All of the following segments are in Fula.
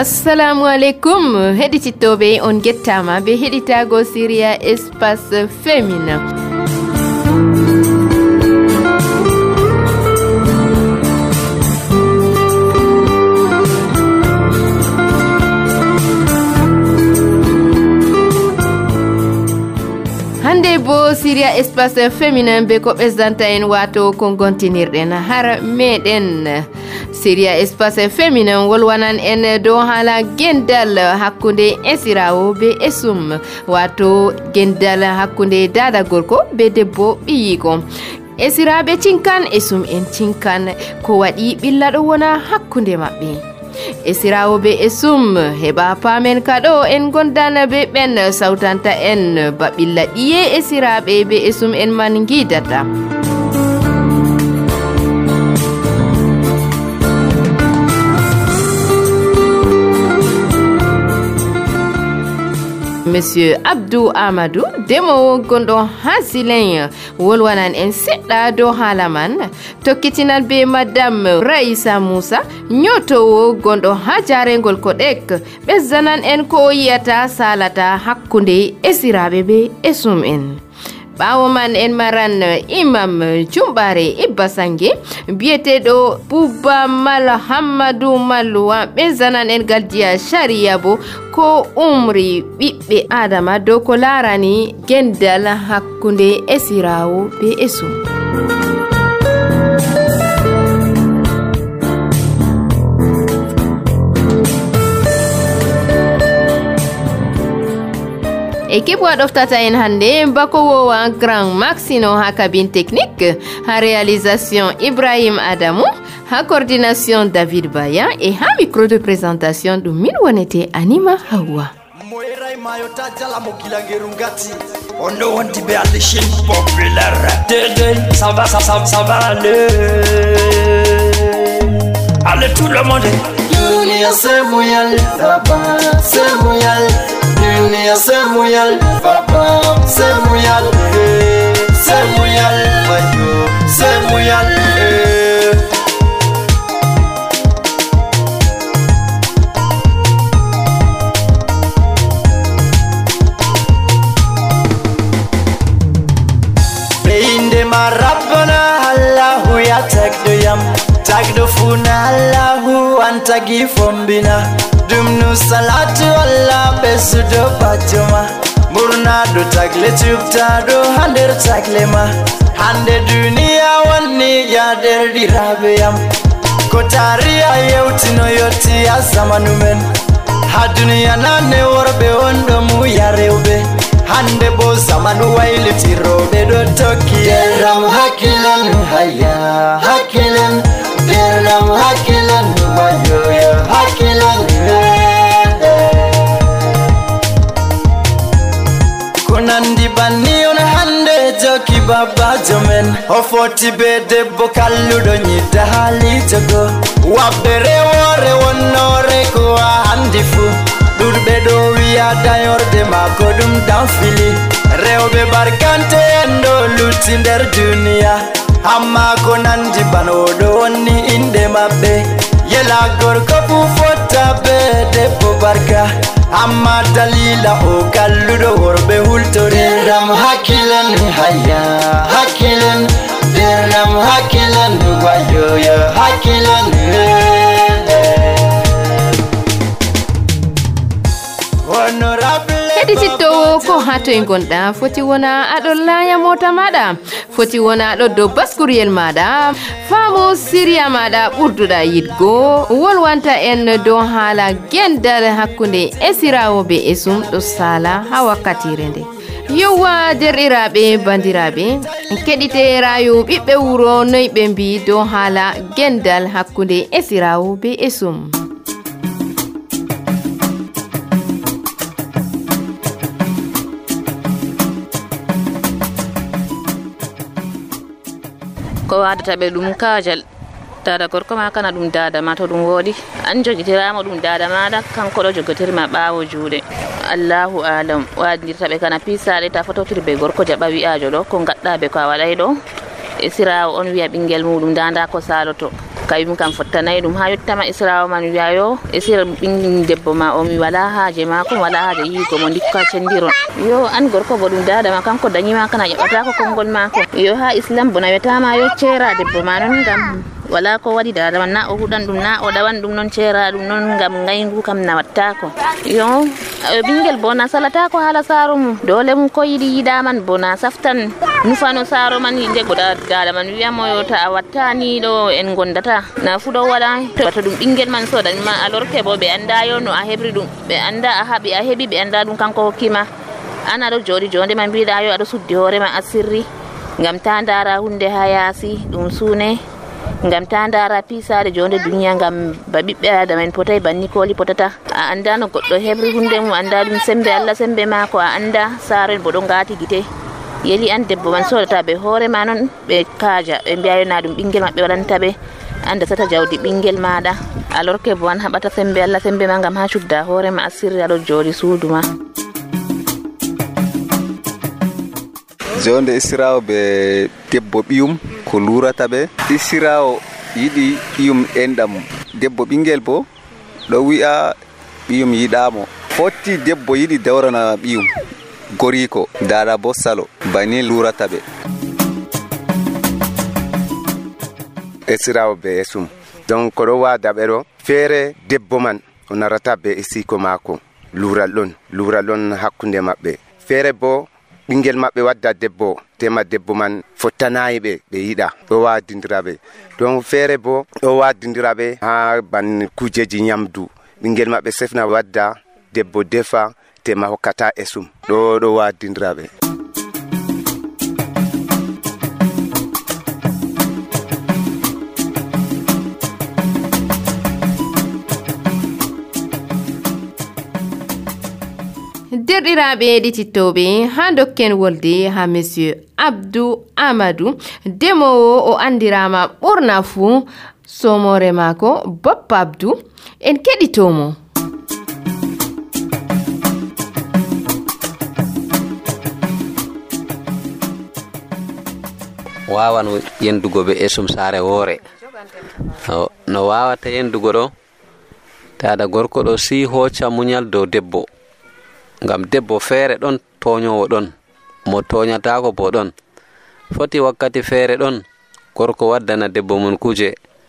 Assalamu alaikum heɗitittoɓe on gettama be heɗitago Syria Espace Féminin. Hande bo Syria Espace Féminin be ko ɓesdanta en wato ko gontinirɗen har meɗen. Syria Espace Féminin wolwanan en do hala gendal hakkunde esirawo be esum wato gendal hakkunde dada gorko be debbo ɓiyiko. Esiraɓe cinkan esum en cinkan ko waɗi ɓilla ɗo wona hakkunde maɓɓe. Esirawo be esum heɓa pamen kaɗo en gondan be ɓen sawtanta en ba ɓilla ɗiye esiraɓe be esum en man gidata. Monsieur Abdou Amadou demo gondo hasilen wolwanan en seɗɗa do halaman tokkitinan be Madame Raissa Moussa nyotowo gondo ha jarengol Kodek ɓezzanan en ko yiyata salata hakkunde esiraɓe be esum en. Ɓawo man en maran Imam Jumbare Ibba Sange biyeteɗo Bouba Mal Hammadou Malluwa ɓezzanan en galdiya sharia bo ko umri ɓiɓɓe adama dow ko larani gendal hakkunde esirawo be esum. Équipe waɗoftata en hande bakowowa Grand Maxino ha cabine technique, ha réalisation Ibrahim Adamou, ha coordination David Baya et ha micro de présentation ɗum min wonete Anima Hawa. Moirai mayota jala mokilangeru ngati ondo wonti be alle chaîne populaire de ça va allez tout le monde dunia semuyal baba semuyal dunia semuyal baba semuyal mayo semuyal Rabbana Allahu ya tagdo funa Allahu antagi fombina dumnu salatu Allah besudo batuma murna do tagle chupta do hander taglema hande dunia wani ya derdi rabeyam kotaria yeutino yoti ya zamanumen ha dunia nane worbe ondo mu yarewbe hande bo zamanu wailiti robe do toki deram hakilan haya hakilan deram hakilan mayo ya hakilan kunandi bani on hande joki baba jomen ofoti be debbo kalludo nyita hali jogo wabere wore wonore ko handi fu durbe do wiya dayorde mako dum danfili rewbe barkante endo lutti nder duniya amma ko nandi banodo wonni inde mabbe yela gorko fu fotta be debbo barka amma dalila o kalludo worbe hultore dam hakilan haya hakilan deram hakilan wayo ya hakilan heɗitittowo ko hato e gonɗa foti wona aɗon laya mota maɗa foti wona aɗo dow baskuriyel maɗa faamu Syria maɗa ɓurduɗa yidgo wolwanta en dow haala gendal hakkunde esirawo be esum ɗo sala ha wakkatire nde. Yowa derɗiraɓe bandiraɓe keɗite rayu ɓiɓɓe wuro noy ɓe mbi dow haala gendal hakkunde esirawo be esum. ko wadata be dum kajal dada gorko ma kana dum dada ma to dum wodi an jogitirama dum dada maada kanko do jogotirma baawo juude Allahu alam wadirta be kana pisale ta fototirbe gorko jaba wi'ajo do ko gadda be ko wadai do e sirawo on wi'a bingel mudum danda ko saloto kayum kam fottanayi ɗum ha yottama israwo man wiyayo esira ɓingel debbo ma o mi wala haaje mako wala haaje yigo mo dikka cendiron yo an gorko bo ɗum dada ma kanko dañima kana ƴeɓata ko konngol mako yo ha islam bona wiyatama yo ceera debbo ma non ngam wala ko waɗi dada man na o huɗan ɗum na o ɗawan ɗum non ceera ɗum non ngam ngaygu kam na wattako yo ɓingel bo na salata ko haala saaro mum dole mum ko yiɗi yiɗaman bo na saftan nufano saaro man yinde goɗa dada man wiyamo yo ta a wattani ɗo en gondata na fu ɗo waɗa to ɗum ɓingel man sodanima alorke bo ɓe anda yo no a heɓri ɗum ɓe anda a haɓi a heɓi ɓe anda ɗum kanko hokkima an aɗo joɗi jonde ma mbiɗa yo aɗa suddi hoorema asirri ngam ta ndara hunde ha yaasi ɗum suune ngam ta ndara pisade jonde duniya ngam ba ɓiɓɓe adama en potay banni koli potata a anda no goɗɗo heɓri hunde mum anda ɗum sembe Allah sembe mako a anda saaro en bo ɗo ngati gite yeli an debbo man sodata ɓe hoore ma noon ɓe kaaja ɓe mbiyayo na ɗum ɓingel maɓɓe waɗanta ɓe anda sata jawdi ɓingel maɗa alorke bo an haɓata sembe Allah sembe ma ngam ha cudda hoore ma asirri aɗo joɗi suudu ma jonde isirawo be debbo ɓiyum ko lurata ɓe isirawo yiɗi ɓiyum enɗam debbo ɓingel bo ɗo wi'a ɓiyum yiɗamo fotti debbo yiɗi dawrana ɓiyum goriko dada bo salo bani lurata ɓe esirawo be esum donc koɗo wada ɓe ɗo feere debbo man o narata be esiko mako lural ɗon hakkunde maɓɓe feere bo ɓingel maɓɓe wadda debbo tema debbo man fottanayi ɓe yiɗa ɗo wadindiraɓe donc feere bo ɗo wadindiraɓe ha ban kujeji nyamdu ɓingel maɓɓe sefna wadda debbo defa tema hokkata esum ɗo wadindiraɓe derɗiraɓe ɗitittoɓe ha dokken wolde ha monsieur Abdou Amadou demowo o andirama ɓurna fuu somore mako Bappa Abdou en keɗitomo wawan yendugo be esum saare woore no wawata yendugo ɗo tada gorko ɗo si hocca muñal dow debbo ngam debbo feere ɗon toñowo ɗon mo toñatako bo ɗon foti wakkati feere ɗon gorko waddana debbo mun kuje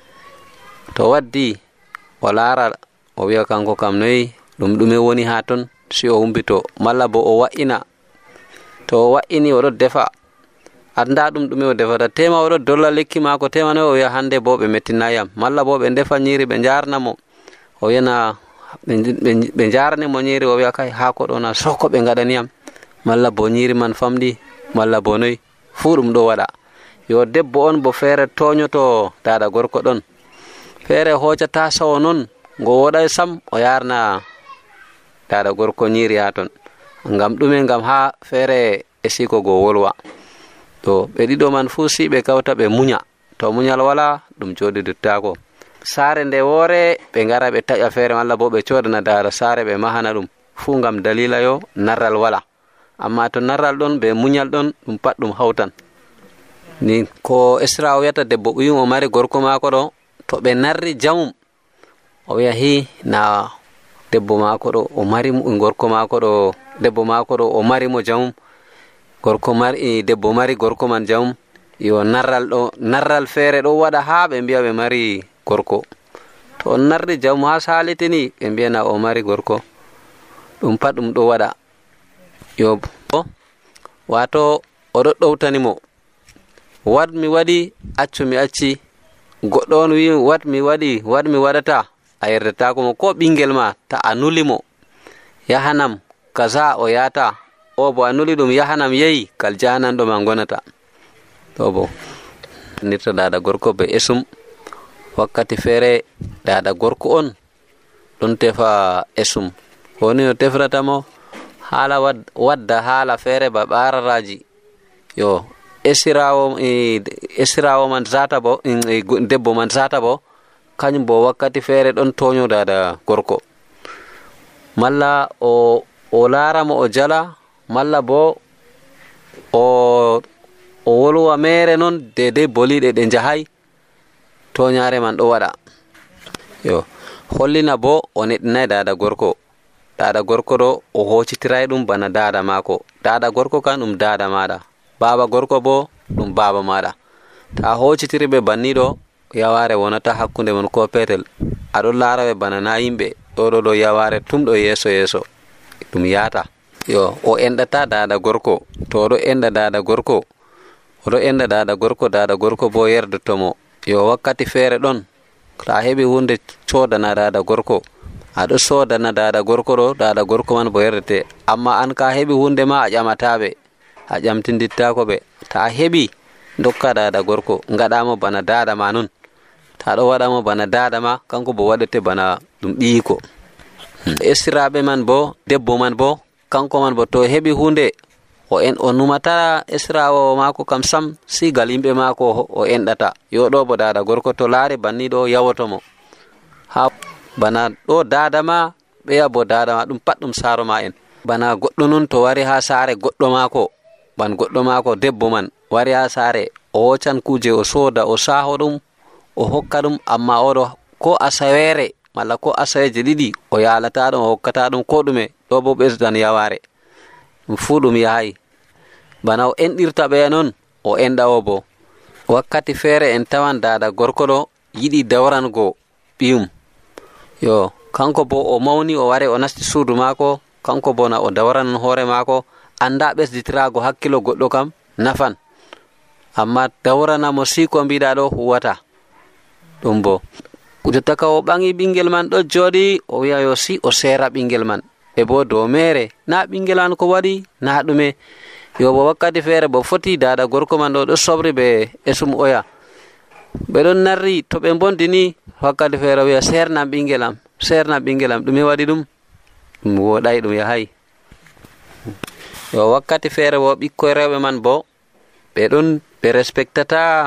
to waddi o laara o wi'a kanko kam noyi ɗume woni ha ton si o humbito malla bo o wa'ina to o wa'ini oɗo defa anda ɗume o defata tema oɗo dolla lekki mako tema noyi o wi'a hande bo ɓe mettinayam malla bo ɓe defa nyiri ɓe jarnamo o wiyana ɓe jarani mo nyiri o wi'a kay hako ɗo na soko ɓe gaɗaniyam malla bo nyiri man famɗi malla bo noyi fu ɗum ɗo waɗa yo debbo on bo feere toñoto dada gorko ɗon feere hocata sawo non ngo woɗay sam o yarna dada gorko nyiri ha ton ngam ɗume ngam ha feere e siko go wolwa to ɓe ɗiɗo man fu si ɓe kawta ɓe muña to muñal wala ɗum joɗi duttako saare nde woore ɓe ngara ɓe taƴa feere malla bo ɓe codana dada saare ɓe mahana ɗum fu ngam dalila yo narral wala amma to narral ɗon ɓe muñal ɗon ɗum pat ɗum hawtan ni ko Esra o wiyata debbo ɓuyum o mari gorko maako ɗo to ɓe narri jamum o wiya hi na debbo maako ɗo o mari gorko maako ɗo debbo maako ɗo o mari mo jamum gorko mari debbo mari gorko man jamum yo narral feere ɗo waɗa ha ɓe mbiya ɓe mari gorko to on narri jamum ha salitini ɓe mbiyana o mari gorko ɗum pat ɗum ɗo waɗa yo wato oɗo ɗowtanimo wadmi waɗi accu mi acci goɗɗo on wi wadmi waɗi wadmi waɗata a yerdetako mo ko ɓingel ma ta a nulimo yahanam kaza o yata o bo a nuli ɗum yahanam yeyi kal jahananɗo ma gonata to bo nirta dada gorko be esum wakkati feere dada gorko on ɗon tefa esum woni no tefratamo haala wadda haala feere ba ɓararaji yo esirawo man zata bo debbo man zata bo kañum bo wakkati feere ɗon toño dada gorko malla o laaramo o jala malla bo o wolwa mere non dede boliɗe ɗe jahay toñare man ɗo waɗa yo hollina bo o neɗɗinay dada gorko ɗo o hocitiray ɗum bana dada mako. Dada gorko kan ɗum dada maɗa, baba gorko bo ɗum baba maɗa. Ta hocitiri ɓe banniɗo yaware wonata hakkunde mon ko petel. Aɗo laara ɓe bana na yimɓe ɗo yaware tumɗo yeso ɗum yata yo o enɗata dada gorko. To oɗo enɗa dada gorko bo yerdotomo yo wakkati feere ɗon ta heɓi hunde sodana dada gorko, aɗo sodana dada gorko ɗo, dada gorko man bo yerdete. Amma an ka heɓi hunde ma a ƴamataɓe, a ƴamtindittako ɓe. Ta heɓi dokka dada gorko ngaɗamo bana dada ma nun. Ta ɗo waɗamo bana dada ma kanko bo waɗete bana ɗum ɓiyiko. Esiraɓe man bo debbo man bo kanko man bo to heɓi hunde o numata esirawo mako kam sam sigal yimɓe mako o enɗata yo ɗo bo dada gorko to laari banni ɗo yawotomo ha bana ɗo dada ma ɓeya bo dada ma ɗum pat ɗum saro ma en. Bana goɗɗo nun to wari ha saare goɗɗo mako debbo man wari ha saare o hocan kuje o soda o saho ɗum o hokka ɗum, amma oɗo ko asawere malla ko asaweje ɗiɗi o yalata ɗum o hokkata ɗum ko ɗume. Ɗo bo ɓesdan yaware ɗum fuu ɗum yahay bana o enɗirta ɓeya non o enɗa o bo. Wakkati feere en tawan dada gorko ɗo yiɗi dawrango ɓiyum yo kanko bo o mawni o wari o nasti suudu mako, kanko bo na o dawranan hoore mako. Anda ɓesditirago hakkilo goɗɗo kam nafan, amma dawranamo si ko mbiɗa ɗo huwata ɗum bo. Jotta ka o ɓangi ɓingel man ɗo jooɗi o wi'a yo si o seera ɓingel man e bo dow mere na ɓingel man ko waɗi na ɗume yo bo wakkati feere bo foti dada gorko man ɗo sobri ɓe esum oya ɓe ɗon narri to ɓe bondini wakkati feere wi'a serna ɓingel am ɗume waɗi ɗum woɗay ɗum yahay yo wakkati feere bo ɓikkoy rewɓe man bo ɓe respectata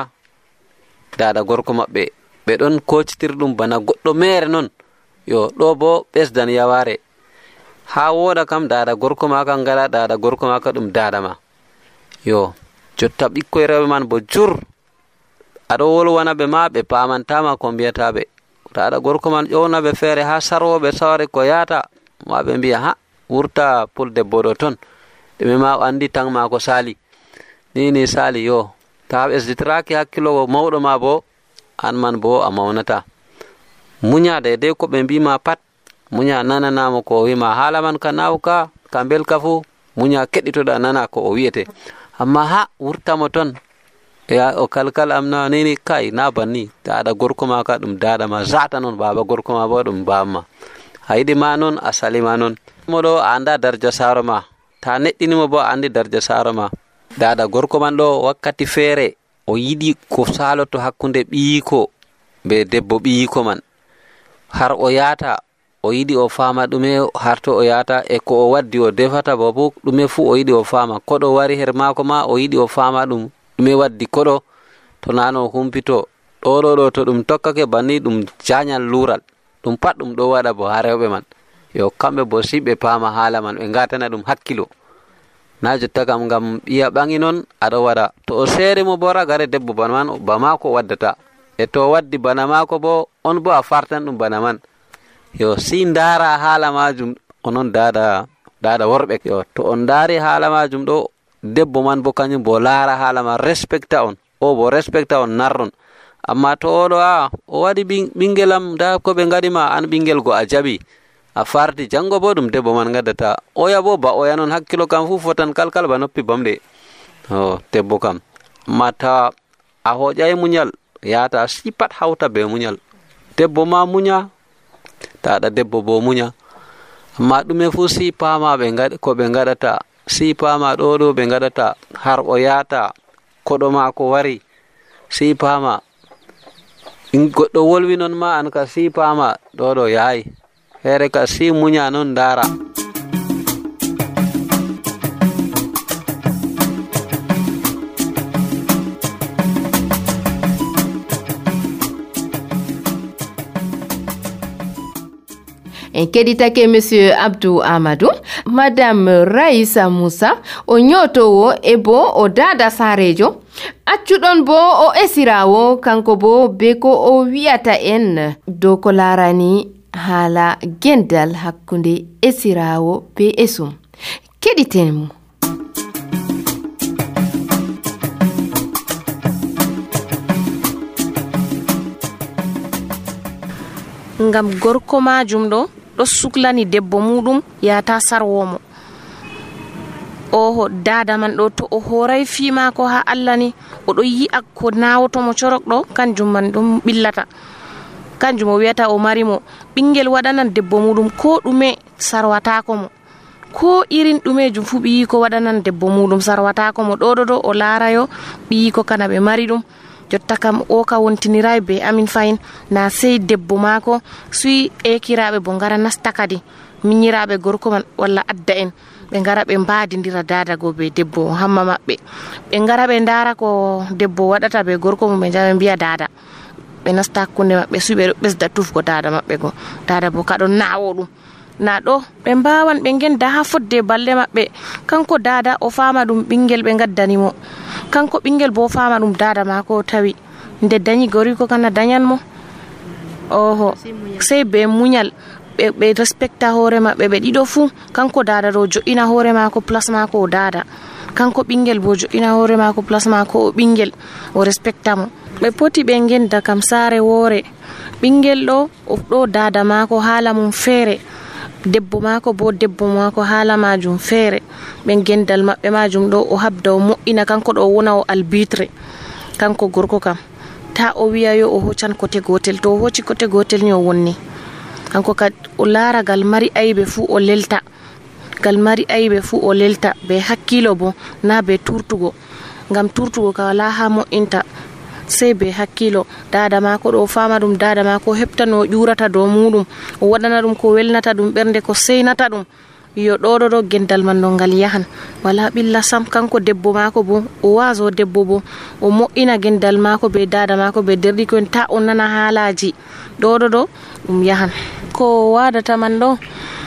dada gorko maɓɓe, ɓe ɗon kocitir ɗum bana goɗɗo mere non yo ɗo bo ɓesdan yaware. Ha woɗa kam dada gorko ma kan ngala dada gorko ma ka ɗum dada ma yo jotta ɓikkoy rewɓe man bo jur aɗo wolwana ɓe ma ɓe pamantama ko mbiyataɓe. Dada gorko man ƴowna ɓe feere ha sarwoɓe sawre ko yata ma ɓe mbiya ha wurta pul debbo ɗo ton ɗume ma o andi tan ma ko sali ni sali yo ta ɓesditiraki hakkilo mawɗo ma bo an man bo a mawnata. Munya de ko ɓe mbima pat munya nananamo ko wima hala man ka nawka ka belka fu munya keɗitoɗa nana ko o wiyete, amma ha wurtamo ton ya o kalkal amna nini kai na banni dada gorko ma ka ɗum dada ma zata non baba gorko ma bo ɗum baba ma haydi ma non a salima non moɗo a anda darja saro ma ta neɗɗinimo bo a andi darja saro ma. Dada gorko man ɗo wakkati feere o yiɗi ko saloto hakkunde ɓiyiko be debbo ɓiyiko man har o yata o yiɗi o fama ɗume harto o yata e ko o waddi o defata bo ɗume fu o yiɗi o fama koɗo wari her mako ma o yiɗi o fama ɗum ɗume waddi koɗo to nano humpito ɗo to ɗum tokkake banni ɗum jañal lural ɗum pat ɗum ɗo waɗa bo ha rewɓe man yo kamɓe bo si ɓe pama haala man ɓe ngatana ɗum hakkilo na jotta kam ngam ɓiya ɓangi non aɗo waɗa to o seeri mo bo ragare debbo bana man ba mako waddata e to waddi bana mako bo on bo a fartan ɗum bana man yo si ndara haala majum onon dada worɓe yo to on dari haala majum ɗo debbo man bo kañum bo laara haala ma respecta on o bo respecta on narron. Amma to oɗo o waɗi ɓingelam da ko ɓe ngaɗima an ɓingel go a jaɓi a farti jango bo ɗum debbo man gaddata oya bo ba oya non hakkilo kam fu fotan kalkal ba noppi bamɗe debbo kam. Amma tawa a hoƴay muñal yata si pat hawta be muñal debbo ma muña taɗa debbo bo muña, amma ɗume fu si pama ko ɓe ngaɗata si pama ɗo ɓe ngaɗata har o yata koɗo ma ko wari si pama goɗɗo wolwi non ma an ka si pama ɗo yahay here ka si muña non dara. en keɗitake monsieur Abdou Amadou madame Raissa Moussa o ñotowo e bo o dada sarejo accuɗon bo o esirawo kanko bo be ko o wi'ata en dow ko larani haala gendal hakkunde esirawo be esum keɗiten mo. ngam gorko majum ɗo suklani debbo muɗum yata sarwomo oho dada man ɗo to o horay fimako ha Allah ni oɗo yi'a ko nawotomo corok ɗo kanjum man ɗum ɓillata kanjum o wiyata o marimo ɓingel waɗanan debbo muɗum ko ɗume sarwatako mo ko irin ɗumejum fu ɓiyi ko waɗanan debbo muɗum sarwatako mo ɗo o laarayo ɓiyi ko kana ɓe mari ɗum jotta kam o ka wontiniray be amin fayin na sey debbo mako suyi ekiraɓe bo ngara nasta kadi miñiraɓe gorko man walla adda en ɓe ngara ɓe mbadidira dadago be debbo hamma maɓɓe ɓe ngara ɓe ndara ko debbo waɗata be gorko mum ɓe jaɓe mbiya dada ɓe nasta hakkunde maɓɓe suyi ɓe ɓesda tufgo dada maɓɓe go dada bo kaɗon nawo ɗum na ɗo ɓe mbawan ɓe genda ha fodde balle maɓɓe kanko dada o fama ɗum ɓingel ɓe gaddanimo kanko ɓingel bo fama ɗum dada mako o tawi nde dañi goriko kana dañanmo oho sey be muñal ɓe respecta hoore maɓɓe ɓe ɗiɗo fu kanko dada ɗo jo'ina hoore mako place mako o dada kanko ɓingel bo jo'ina hoore mako place mako o ɓingel o respecta mo ɓe poti ɓe genda kam saare woore ɓingel ɗo dada mako haala mum feere debbo mako bo debbo mako haala majum feere ɓe gendal maɓɓe majum ɗo o habda o moƴƴina kanko ɗo wona o albitre kanko gorko kam ta o wiya yo o hoccan kote gotel to o hocci kote gotel ni o wonni kanko kad o laara gal mari aybe fu o lelta gal mari aybe fu o lelta be hakkilo bo na be turtugo ngam turtugo ka wala ha mo'inta sey be hakkilo dada mako ɗo fama ɗum dada mako hepta no ƴurata dow muɗum o waɗana ɗum ko welnata ɗum ɓernde ko seynata ɗum yo ɗo gendal man ɗo ngal yahan wala ɓilla sam kanko debbo mako bo o waso debbo bo o mo'ina gendal mako be dada mako be derɗi ko en ta o nana haalaji ɗo ɗum yahan ko wadata man ɗo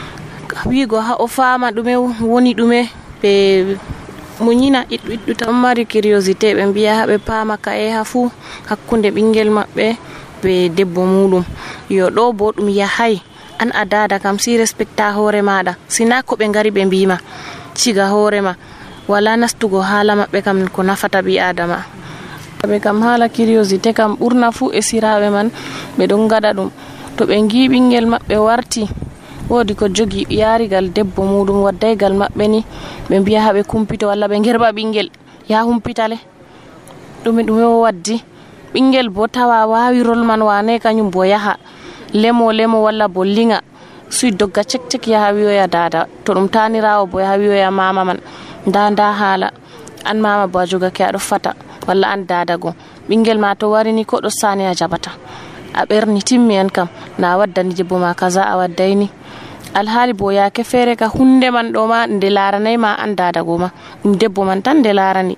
wigo ha o fama ɗume woni ɗume ɓe muñina iɗɗu tan mari curiosité ɓe mbiya ha ɓe pama ka'e ha fu hakkunde ɓingel maɓɓe be debbo muɗum yo ɗo bo ɗum yahay an a dada kam si respecta hoore maɗa sina ko ɓe ngari ɓe mbima ciga hoorema wala nastugo haala maɓɓe kam ko nafata ɓi adama ɓe kam haala curiosité kam ɓurna fu e siraɓe man ɓe ɗon gaɗa ɗum to ɓe gi ɓingel maɓɓe warti wodi ko jogi yarigal debbo muɗum waddaygal maɓɓe ni ɓe mbiya ha ɓe kumpito walla ɓe gerba ɓingel ya humpitale ɗume o waddi ɓingel bo tawa wawi rol man wane kañum bo yaha lemo walla bo linga suy dogga cek yaha wiyoya dada to ɗum tanirawo bo yaha wiyoya mama man nda haala an mama bo a jogake aɗo fata walla an dada go ɓingel ma to warini ko ɗo sani a jabata a ɓerni timmi en kam na waddani debbo ma kaza a waddayni alhaali bo yake feere ka hunde man ɗo ma nde laranay ma an dada go ma ɗum debbo man tan nde larani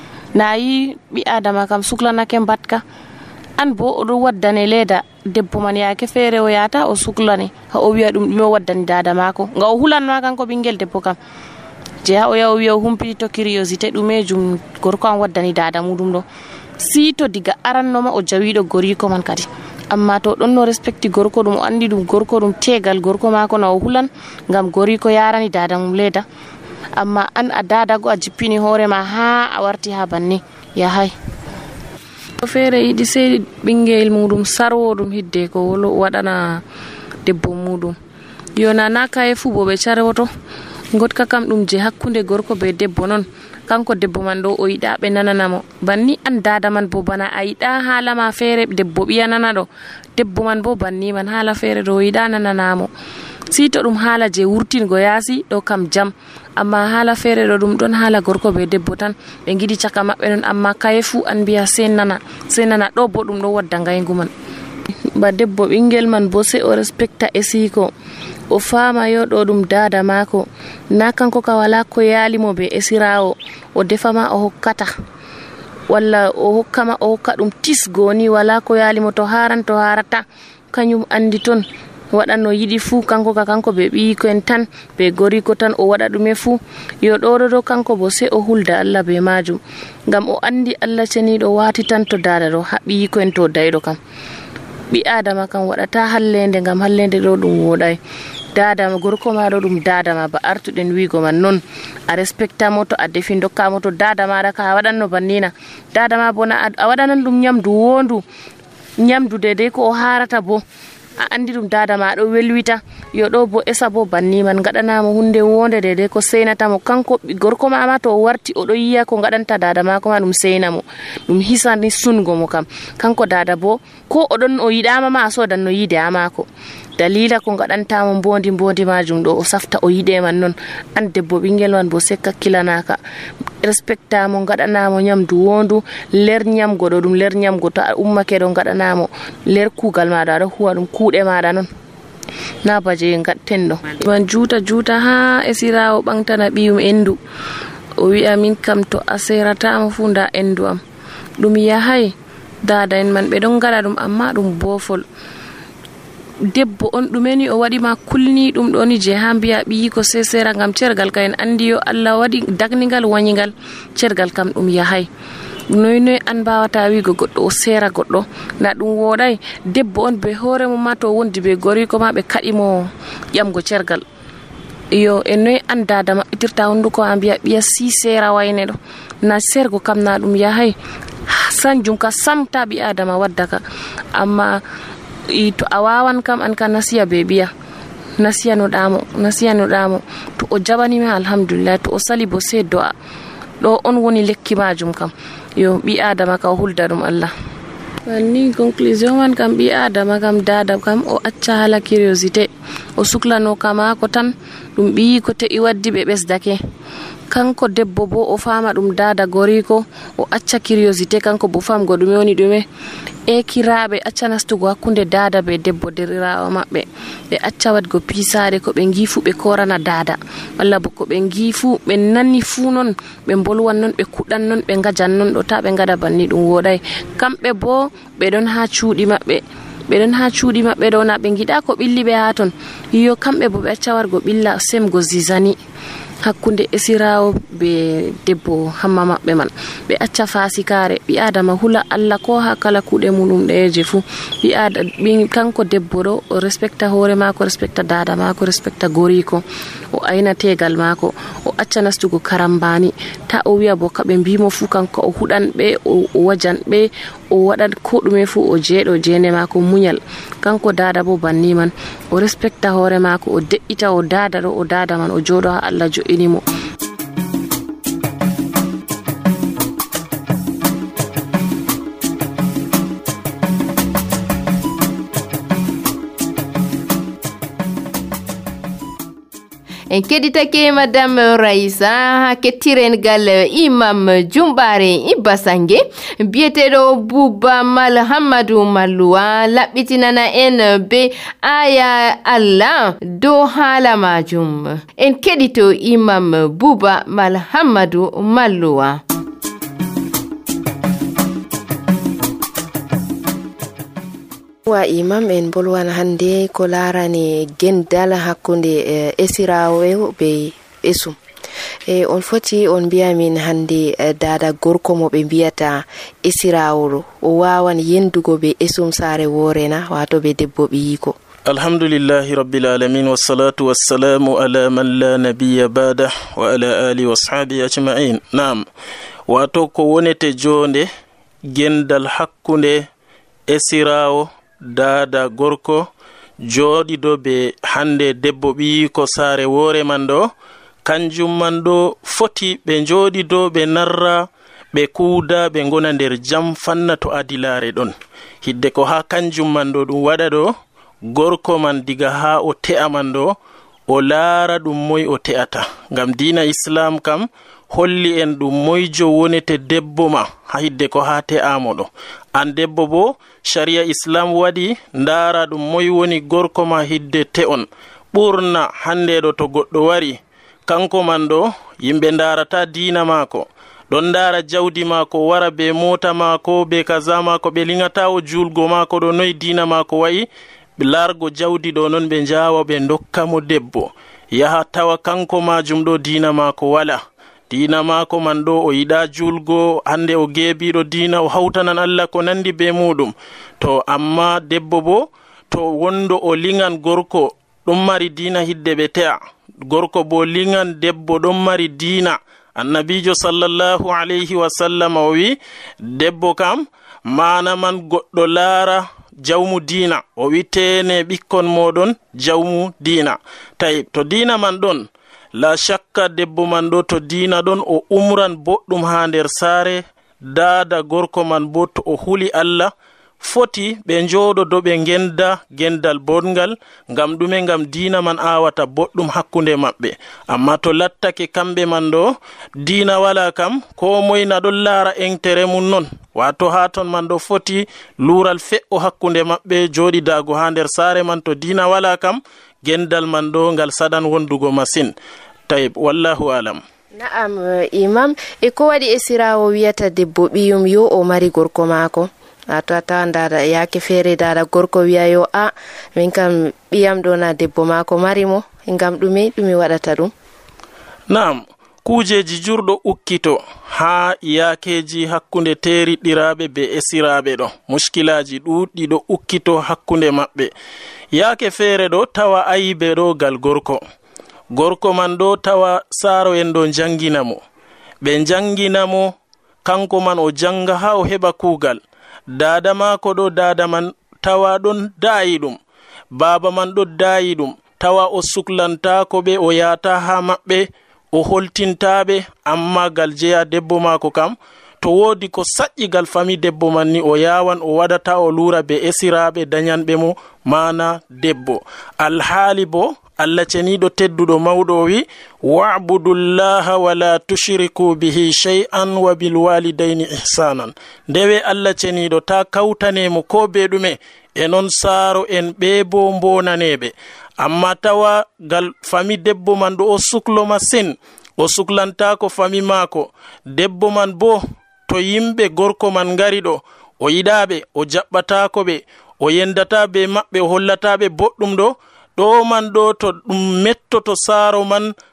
nayi ɓi adama kam suklanake mbatka an bo oɗo waddane leeda debbo man yake feere o yata o suklani ha o wiya ɗum ɗume o waddani dada mako nga o hulanma kanko ɓingel debbo kam je ha o yaha o wiya o humpiti to curiosité ɗumejum gorko an waddani dada muɗum ɗo si to diga arannoma o jawiɗo goriko man kadi amma to ɗon no respecti gorko ɗum o andi ɗum gorko ɗum tegal gorko mako na o hulan ngam goriko yarani dada mum leeda amma an a dadago a jippini hoorema ha a warti ha banni yahay to feere yiɗi sey ɓingel muɗum sarwo ɗum hidde ko waɗana debbo muɗum yona na kaye fu bo ɓe carwoto gotka kam ɗum je hakkunde gorko be debbo non kanko debbo man ɗo o yiɗa ɓe nananamo banni an dada man bo bana a yiɗa haala ma feere debbo ɓiya nana ɗo debbo man bo banni man haala feere ɗo o yiɗa nananamo si to ɗum haala je wurtingo yaasi ɗo kam jam amma haala feere ɗo ɗum ɗon haala gorko be debbo tan ɓe giɗi caka maɓɓe non amma kaye fu an mbiya sei nana ɗo bo ɗum ɗo wadda ngaygu man ba debbo ɓingel man bo sei o respecta e siko o fama yo ɗo ɗum dada mako na kanko ka wala ko yaalimo be esirawo o defama o hokkata walla o hokka ɗum tisgoni wala ko yaalimo to harata kañum andi ton waɗanno yiɗi fuu kanko ka kanko ɓe ɓiyiko en tan ɓe goriko tan o waɗa ɗume fuu yo ɗoɗo kanko bo sei o hulda Allah be majum ngam o andi Allah ceniɗo wati tan to dada ɗo haɓiyiko en to dayɗo kam ɓi adama kam waɗata hallende ngam hallende ɗo ɗum woɗay dada gorko ma ɗo ɗum dada ma ba artuɗen wigo man non a respecta mo to a defi dokkamo to dada maɗa ka a waɗanno bannina dada ma bo na a waɗanan ɗum nyamdu wondu nyamdu dedei ko o harata bo a andi ɗum dada ma ɗo welwita yo ɗo bo esa bo banni man gaɗanamo hunde wonde dedei ko seinatamo kanko gorko mama to o warti oɗo yiya ko gaɗanta dada mako ma ɗum seinamo ɗum hisani sungo mo kam kanko dada bo ko oɗon o yiɗama ma a sodan no yide ha mako dalila ko gaɗantamo mbondi majum ɗo o safta o yiɗe man non an debbo ɓingel man bo sekka killanaka respectamo gaɗanamo nyamdu wondu ler nyamgo ɗo ɗum ler nyamgo to a ummake ɗo gaɗanamo ler kugal maɗa aɗa huwa ɗum kuuɗe maɗa non na baje gatten ɗo man juuta ha esirawo ɓantana ɓiyum endu o wi'a min kam to a seratamo fu nda endu am ɗum yahay dada en man ɓe ɗon gaɗa ɗum amma ɗum bofol debbo on ɗumeni o waɗima kulni ɗum ɗoni je ha mbiya ɓiyi ko sesera ngam cergal ka en andi yo Allah waɗi dagnigal wañigal cergal kam ɗum yahay noy an mbawata wigo goɗɗo o sera goɗɗo na ɗum woɗay debbo on be hoore mum ma to wondi be goriko ma ɓe kaɗimo ƴamgo cergal yo e noy an dada maɓɓitirta hunduko a mbiya ɓiya si sera wayne ɗo na sergo kam na ɗum yahay sanjum ka samta ɓi adama waddaka amma to a wawan kam an ka nasiya be biya nasiyanoɗamo to o jaɓanima alhamdulillah to o sali bo sei do'a ɗo on woni lekki majum kam yo ɓi adama ka o hulda ɗum Allah ni conclusion man kam ɓi adama kam dada kam o acca hala curiosité o suklano kamako tan ɗum ɓiyi ko te'i waddi ɓe ɓesdake kanko debbo bo o fama ɗum dada goriko o acca curiosité kanko bo famgo ɗume woni ɗume ekiraɓe acca nastugo hakkunde dada be debbo derirawo maɓɓe ɓe acca wadgo pisade ko ɓe gifu ɓe korana dada walla bo ko ɓe gifu ɓe nanni fu non ɓe bolwan non ɓe kuɗan non ɓe gajan non ɗo ta ɓe gada banni ɗum woɗay kamɓe bo ɓe ɗon ha cuuɗi maɓɓe ɗo na ɓe giɗa ko ɓilli ɓe ha ton yo kamɓe bo ɓe acca wargo ɓilla semgo zizani hakkunde esirawo be debbo hamma maɓɓe man ɓe acca fasikare ɓi adama hula Allah ko ha kala kuɗe muɗum ɗeje fu ɓi kanko debbo ɗo o respecta hoore mako respecta dada mako respecta goriko o ayna tegal mako o acca nastugo karambani ta o wiya bo kaɓe mbimo fu kanko o huɗan ɓe o wajan ɓe o waɗan ko ɗume fu o jeeɗo jende mako muñal kanko dada bo banni man o respecta hoore mako o de'ita o dada ɗo o dada man o joɗo ha Allah jo'inimo en keɗitake madame Raissa kettiren gal imam Jumbare Ibasange biyeteɗo Buba Malhamadou Malluwa laɓɓitinana en be aya Allah dow haala majum en keɗito imam Buba Malhamadou Malluwa. wa imam en bolwan hande ko larani gendal hakkunde esirawo be esum on foti on biya min hande dada gorko mo be biyata esirawo o wawan yendugo be esum sare worena wato be debbo biyiko. alhamdulillahi rabbil alamin wassalatu wassalamu ala man la nabiyya ba'da wa ala alihi washabihi ajma'in. Naam, wato ko wonete jonde gendal hakkunde esirawo dada gorko jooɗiɗo be hande debbo ɓi ko saare woore man ɗo kanjum man ɗo foti ɓe jooɗiɗo ɓe narra ɓe kuuda ɓe gona nder jam fanna to adilare ɗon hidde ko ha kanjum man ɗo ɗum waɗa ɗo gorko man diga ha o te'a man ɗo o laara ɗum moy o te'ata ngam diina islam kam holli en ɗum moyjo wonete debbo ma ha hidde ko ha te'amo ɗo an debbo bo sharia islam waɗi ndaara ɗum moy woni gorko ma hidde te'on ɓurna hande ɗo to goɗɗo wari kanko man ɗo yimɓe ndaarata diina maako ɗon ndaara jawdi maako wara be mota maako be kaza maako ɓe liŋata o julgo maako ɗo noy diina maako wayi largo jawdi ɗo noon ɓe njawa ɓe dokkamo debbo yaha tawa kanko majum ɗo dina mako wala dina mako man ɗo o yiɗa julgo hande o geebiɗo dina o hawtanan Allah ko nandi be muɗum to amma debbo bo to wondo o lingan gorko ɗum mari dina hidde ɓe te'a gorko bo lingan debbo ɗum mari dina annabijo sallallahu alayhi wa sallam o wi debbo kam mana man goɗɗo laara jawmu dina o wi tene ɓikkon moɗon jawmu dina tawi to dina man ɗon la shakka debbo man ɗo to dina ɗon o umran boɗɗum ha nder saare dada gorko man bo to o huli Allah foti ɓe njooɗo do ɓe genda gendal bongal ngam ɗume ngam dina man awata boɗɗum hakkunde maɓɓe amma to lattake kamɓe man ɗo dina wala kam ko moy na ɗon laara entere mum non wato ha ton man ɗo foti lural fe'o hakkunde maɓɓe jooɗidago ha nder saare man to dina wala kam gendal man ɗo ngal saɗan wondugo masin tayib wallahu alam. Na'am imam e ko waɗi e sirawo wiyata debbo ɓiyum yo o mari gorko maako ato tawan dada yake feere dada gorko wiya yo a min kam ɓiyam ɗo na debbo maako mari mo ngam ɗume waɗata ɗum. Na'am kujeji jurɗo ukkito ha yakeji hakkunde teriɗiraɓe be esiraɓe ɗo muskilaji ɗuɗɗi ɗo ukkito hakkunde maɓɓe yake feere ɗo tawa ayibe ɗo gal gorko man ɗo tawa saaro en ɗo janginamo ɓe janginamo kanko man o janga ha o heɓa kuugal dada mako ɗo dada man tawa ɗon daayi ɗum baba man ɗo daayi ɗum tawa o suklantako ɓe o yata ha maɓɓe o holtintaɓe amma gal jeya debbo mako kam to wodi ko saƴƴigal fami debbo man ni o yawan o waɗata o lura be esiraɓe dañanɓe mo mana debbo alhaali bo Allah ceniɗo tedduɗo mawɗo o wi wa'budullaha wala tushriku bihi shay'an wa bil walidayni ihsanan ndewe Allah ceniɗo ta kawtanemo ko be ɗume e non saaro en ɓe bo mbonaneɓe amma tawa gal fami debbo man ɗo o suklo masin o suklantako fami maako debbo man bo to yimɓe gorko man ngari ɗo o yiɗaɓe o jaɓɓatako ɓe o yendata be maɓɓe o hollataɓe boɗɗum ɗo man ɗo to ɗum mettoto saaro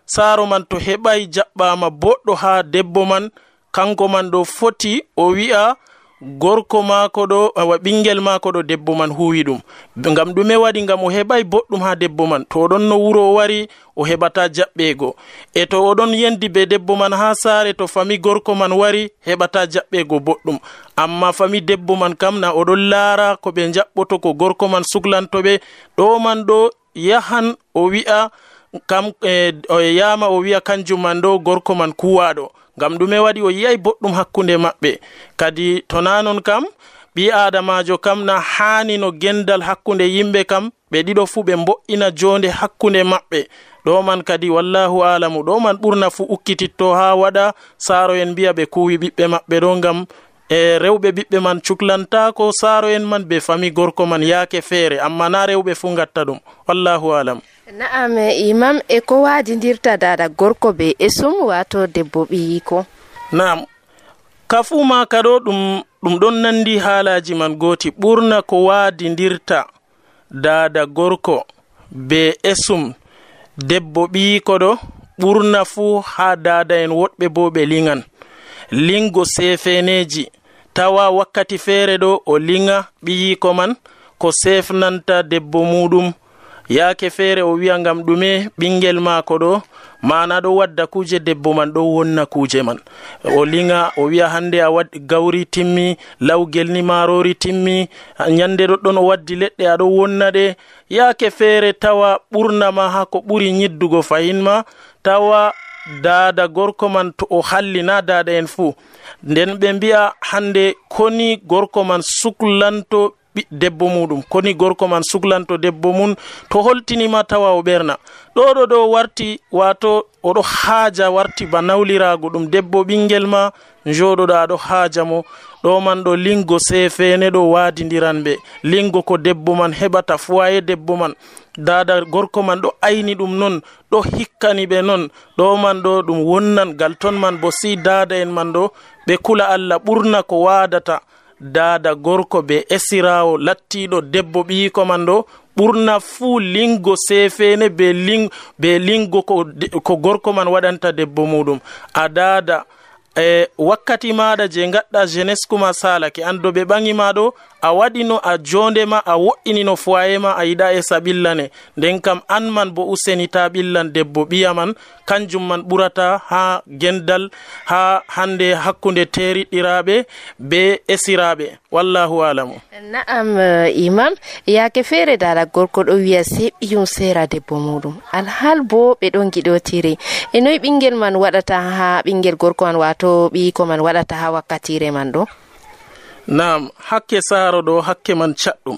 man to heɓay jaɓɓama boɗɗo ha debbo man kanko man ɗo foti o wi'a gorko maako ɗo ɓingel maako ɗo debbo man huwi ɗum ngam ɗume waɗi ngam o heɓay boɗɗum ha debbo man to oɗon no wuro o wari o heɓata jaɓɓego e to oɗon yendi be debbo man ha saare to fami gorko man wari heɓata jaɓɓego boɗɗum amma fami debbo man kam na oɗon laara ko ɓe jaɓɓoto ko gorko man suklantoɓe ɗo man ɗo yahan o wi'a kam o yama o wi'a kanjum man ɗo gorko man kuwaɗo ngam ɗume waɗi o yiyay boɗɗum hakkunde maɓɓe kadi to nanon kam ɓi adamajo kam na hani no gendal hakkunde yimɓe kam ɓe ɗiɗo fu ɓe mbo'ina jonde hakkunde maɓɓe ɗo man kadi wallahu alamu ɗo man ɓurna fu ukkititto ha waɗa saaro en mbiya ɓe kuwi ɓiɓɓe maɓɓe ɗo ngam e rewɓe ɓiɓɓe man cuklantako saaro en man be fami gorko man yaake feere amma na rewɓe fu gatta ɗum wallahu alam. Na'am imam e ko waadidirta dada gorko be esum wato debbo ɓiyiko. Na'am kafuma kado ɗum ɗon nandi haalaji man goti ɓurna ko waadidirta dada gorko be esum debbo ɓiyiko ɗo ɓurna fu ha dada en woɗɓe bo ɓe lingan lingo sefeneji tawa wakkati feere ɗo o linga ɓiyiko man ko sefnanta debbo muɗum yaake feere o wiya ngam ɗume ɓingel maako ɗo mana ɗo wadda kuje debbo man ɗo wonna kuje man o linga o wiya hande a waddi gawri timmi lawgel ni marori timmi nyande ɗoɗɗon o waddi leɗɗe aɗo wonna ɗe yaake feere tawa ɓurna ma ha ko ɓuri nyiddugo fahin ma tawa dada gorko man to o hallina dada en fuu nden ɓe mbi'a hande koni gorko man suklanto debbo muɗum koni gorko man suklanto debbo mum to holtinima tawa o ɓerna ɗo warti wato oɗo haaja warti ba nawlirago ɗum debbo ɓingel ma joɗoɗa aɗo haaja mo ɗo man ɗo lingo sefene ɗo waadidiran ɓe lingo ko debbo man heɓata foyer debbo man dada gorko man ɗo ayni ɗum non ɗo hikkani ɓe non ɗo man ɗo ɗum wonnan gal ton man bo si dada en man ɗo ɓe kula Allah ɓurna ko waadata dada gorko be esirawo lattiɗo debbo ɓiyiko man ɗo ɓurna fuu lingo sefene be lingo ko gorko man waɗanta debbo muɗum a dada wakkati maɗa je gaɗɗa jeunesse kuma salake ando ɓe ɓangi maɗo a waɗino a jondema a wo'inino foyer ma a yiɗa e saɓillane nden kam an man bo useni ta ɓillan debbo ɓiya man kanjum man ɓurata ha gendal ha hande hakkunde teriɗɗiraɓe be esiraɓe wallahu alamu. Na'am imam yake feere dala gorko ɗo wiya sei ɓiyum sera debbo muɗum alhal bo ɓe ɗon giɗotiri e noyi ɓingel man waɗata ha ɓingel gorko man wato ɓiyiko man waɗata ha wakkatire man ɗo? Naam, hakke saaro ɗo hakke man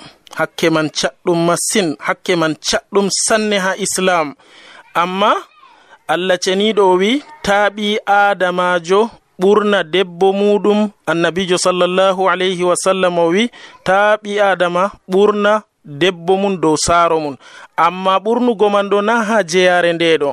caɗɗum masin, hakke man caɗɗum sanne ha islam. Amma Allah ceniɗo wi taaɓi adamajo ɓurna debbo muɗum. Annabijo sallallahu alayhi wa sallam o wi taaɓi adama ɓurna debbo mum dow saaro mum. Amma ɓurnugo man ɗo na ha jeyare nde ɗo,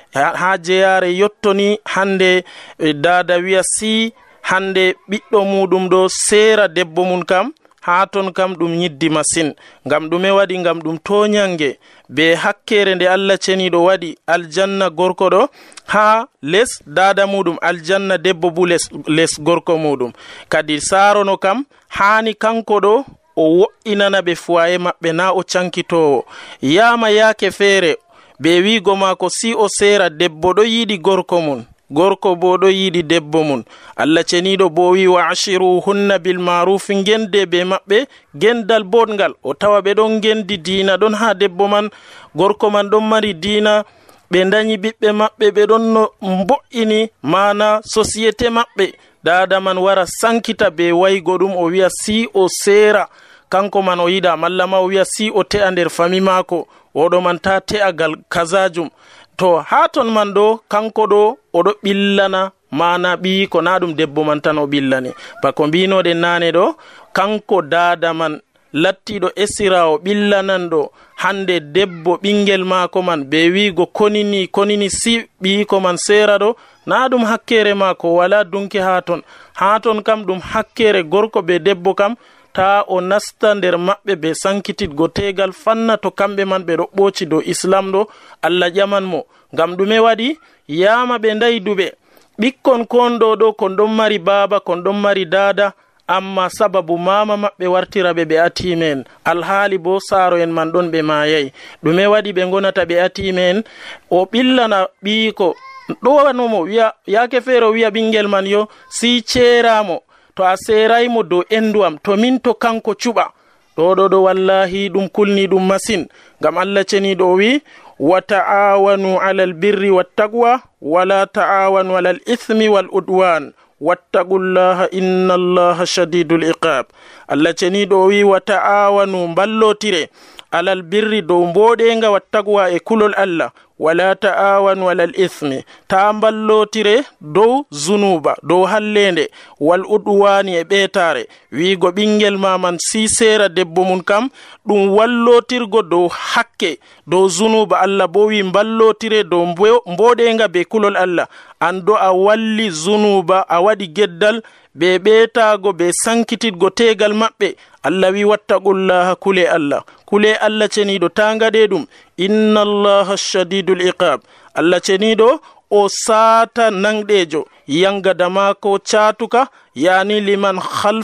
ha jeyare yottoni hande dada wiya si hande ɓiɗɗo muɗum ɗo sera debbo mum kam ha ton kam ɗum yiddi masin. Ngam ɗume waɗi? Ngam ɗum toñange be hakkere nde Allah ceniɗo waɗi aljanna gorko ɗo ha les dada muɗum, aljanna debbo bu les gorko muɗum. Kadi sarono kam hani kanko ɗo o wo'inana ɓe foyer maɓɓe na o cankitowo. Yama yake feere be wigo mako si o sera debbo ɗo yiɗi gorko mum, gorko bo ɗo yiɗi debbo mum. Allah ceniɗo bo wi wa ashiruhunna bil ma'ruf, gende be maɓɓe gendal bodngal. O tawa ɓe ɗon gendi dina ɗon ha debbo man, gorko man ɗon mari dina, ɓe dañi ɓiɓɓe maɓɓe ɓe ɗon no mbo'ini mana société maɓɓe. Dada man wara sankita be waygo ɗum o wiya si o sera kanko man o yiɗa, malla ma o wiya si o te'a nder fami mako, oɗo man ta te'agal kazajum. To ha ton man ɗo kanko ɗo oɗo ɓillana mana ɓi ko na ɗum debbo man tan o ɓillani. Bako mbinoɗen nane ɗo kanko dada man lattiɗo esirawo ɓillananɗo hande debbo ɓingel mako man be wigo konini si ɓiyiko man sera ɗo na ɗum hakkere mako, wala dunki ha ton kam ɗum hakkere gorko be debbo kam ta o nasta nder maɓɓe be sankititgo tegal fanna to kamɓe man ɓe ɗo ɓoci dow islam ɗo. Allah ƴaman mo ngam ɗume waɗi? Yama ɓe dayduɓe ɓikkon konɗo ɗo kon ɗon mari baba, kon ɗon mari dada, amma sababu mama maɓɓe wartiraɓe ɓe atimen, alhaali bo saaro en man ɗon ɓe mayayi. ɗume waɗi ɓe gonata ɓe atimen? O ɓillana ɓiyiko ɗowanomo wiya yake feere o wiya ɓingel man yo si ceeramo to a seraymo dow endu am to min to kanko cuɓa. ɗo wallahi ɗum kulni ɗum masin. Ngam Allah ceniɗo wi wa ta'awanu alal birri wattaqwa wala ta'awanu alal ithmi wal udwan wattaqullaha innallaha shadidul iqab. Allah ceniɗo wi wa ta'awanu mballotire alal birri dow mboɗenga wattaqwa e kulol Allah, wala ta'awanu alal ithmi ta mballotire dow zunuba dow hallende, wal udwani e ɓetare. wigo ɓingel maman si sera debbo mum kam ɗum wallotirgo dow hakke dow zunuba. Allah bo wi mballotire dow mboɗenga be kulol Allah. ando a walli zunuba a waɗi geddal be ɓeetago be sankititgo tegal maɓɓe. Allah wi wattaqullaha kule Allah ceniɗo ta ngaɗe ɗum. inna allaha shadidul iqab. Allah ceniɗo o saata nangɗejo yangada mako catuka, yani liman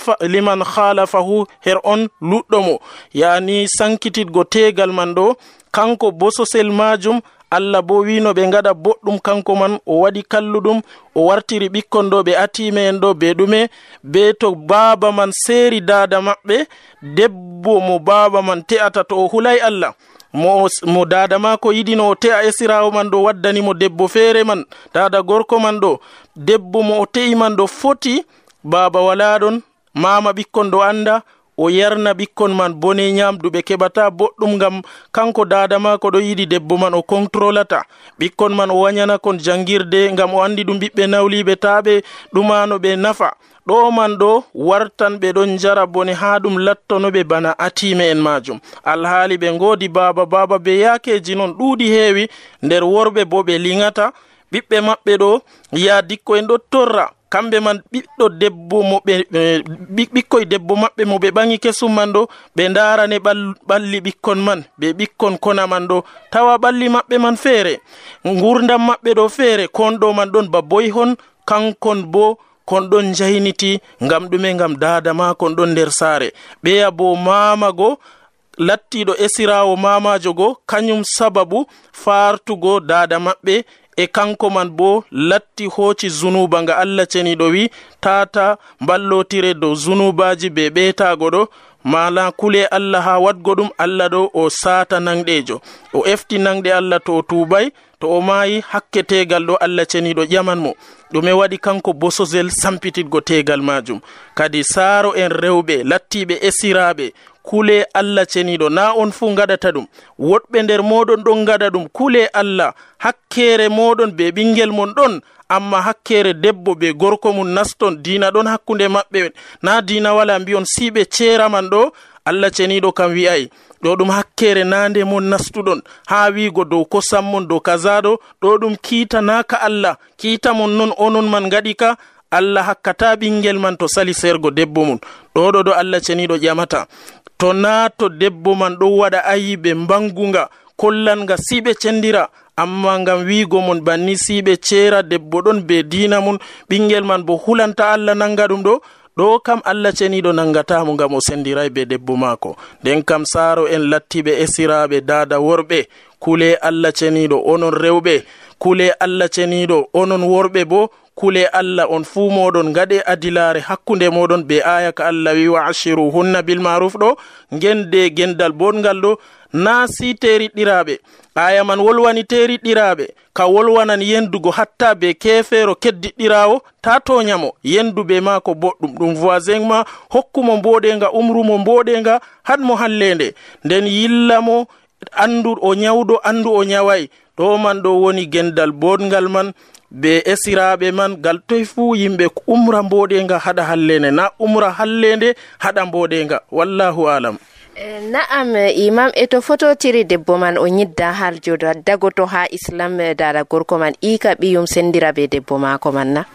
khalafahu her on luɗɗomo, yani sankititgo tegal man ɗo kanko bososel majum. Allah bo wino ɓe ngaɗa boɗɗum kanko man o waɗi kalluɗum, o wartiri ɓikkon ɗo ɓe atime en ɗo be ɗume be to baba man seri dada maɓɓe. debbo mo baba man te'ata to o hulay Allah mo dada mako yiɗino o te'a esirawo man ɗo waddani mo debbo feere man, dada gorko man ɗo debbo mo o te'i man ɗo foti baba wala ɗon, mama ɓikkon ɗo anda, o yarna ɓikkon man bone nyamduɓe keɓata boɗɗum. ngam kanko dada mako ɗo yiɗi debbo man o controlata ɓikkon man, o wanyana kon jangirde ngam o andi ɗum ɓiɓɓe nawliɓe taɓe ɗumano ɓe nafa. ɗo man ɗo wartan ɓe ɗon jara bone ha ɗum lattonoɓe bana atime en majum, alhaali ɓe ngodi baba be yakeji non ɗuuɗi heewi nder worɓe bo ɓe liŋata ɓiɓɓe maɓɓe ɗo ya dikko en ɗo torra kamɓe man ɓiɗɗo debbo mo ɓikkoye debbo maɓɓe mo ɓe ɓangi kesum man ɗo ɓe ndarane ɓalli ɓikkon man ɓe ɓikkon kona man ɗo tawa ɓalli maɓɓe man feere gurdam maɓɓe ɗo feere kon ɗo man ɗon ba boy hon kankon bo kon ɗon jayniti ngam ɗume ngam dada ma kon ɗon nder saare ɓeya bo mamago lattiɗo esirawo mamajo go kañum sababu fartugo dada maɓɓe e kanko man bo latti hoci zunuba nga Allah ceniɗo wi tata ballotire dow zunubaji be ɓeetago ɗo mala kule Allah ha wadgo ɗum Allah ɗo o sata nangɗejo o efti nangɗe Allah to o tubay to o mayi hakke tegal ɗo Allah ceniɗo ƴaman mo ɗume waɗi kanko bososel sampititgo tegal majum kadi saaro en rewɓe lattiɓe esiraɓe kule Allah ceniɗo na on fu gaɗata ɗum woɗɓe nder moɗon ɗon gaɗa ɗum kule Allah hakkere moɗon be ɓingel mon ɗon amma hakkere debbo be gorko mum naston dina ɗon hakkunde maɓɓe na dina wala mbiyon siɓe ceraman ɗo Allah ceniɗo kam wi'ay ɗo ɗum hakkere nande mon nastuɗon ha wigo dow kosam mon dow kazaɗo ɗo ɗum kiita naka Allah kiita mon non onon man gaɗi ka Allah hakkata ɓingel man to sali sergo debbo mum ɗo ɗo Allah ceniɗo ƴamata to na to debbo man ɗo waɗa ayiɓe mbangunga kollanga siɓe cendira amma ngam wigo mon banni siɓe cera debbo ɗon be dina mum ɓingel man bo hulanta Allah nanga ɗum ɗo kam Allah ceniɗo nangatamo ngam o sendiray be debbo mako nden kam saaro en lattiɓe esiraɓe dada worɓe kule Allah ceniɗo onon rewɓe kule Allah ceniɗo onon worɓe bo kule Allah on fuu moɗon gaɗe adilare hakkunde moɗon be aya ka Allah wi wa ashiru hunna bil maruf ɗo gende gendal bongal ɗo na si teriɗɗiraɓe aya man wolwani teriɗɗiraɓe ka wolwanan yendugo hatta be kefero keddiɗɗirawo ta toñamo yenduɓe ma ko boɗɗum ɗum voisin ma hokkumo mboɗenga umrumo mboɗenga hadmo hallende nden yillamo andu o nyawɗo andu o nyaway ɗo man ɗo woni gendal bongal man be esiraɓe man gal toy fu yimɓe umra mboɗenga haɗa hallende na umra hallende haɗa mboɗenga wallahu alam. Na'am imam to fototiri debbo man o nyidda har jodo dagoto ha islam dara gorko man ika ɓiyum sendira be debbo mako man na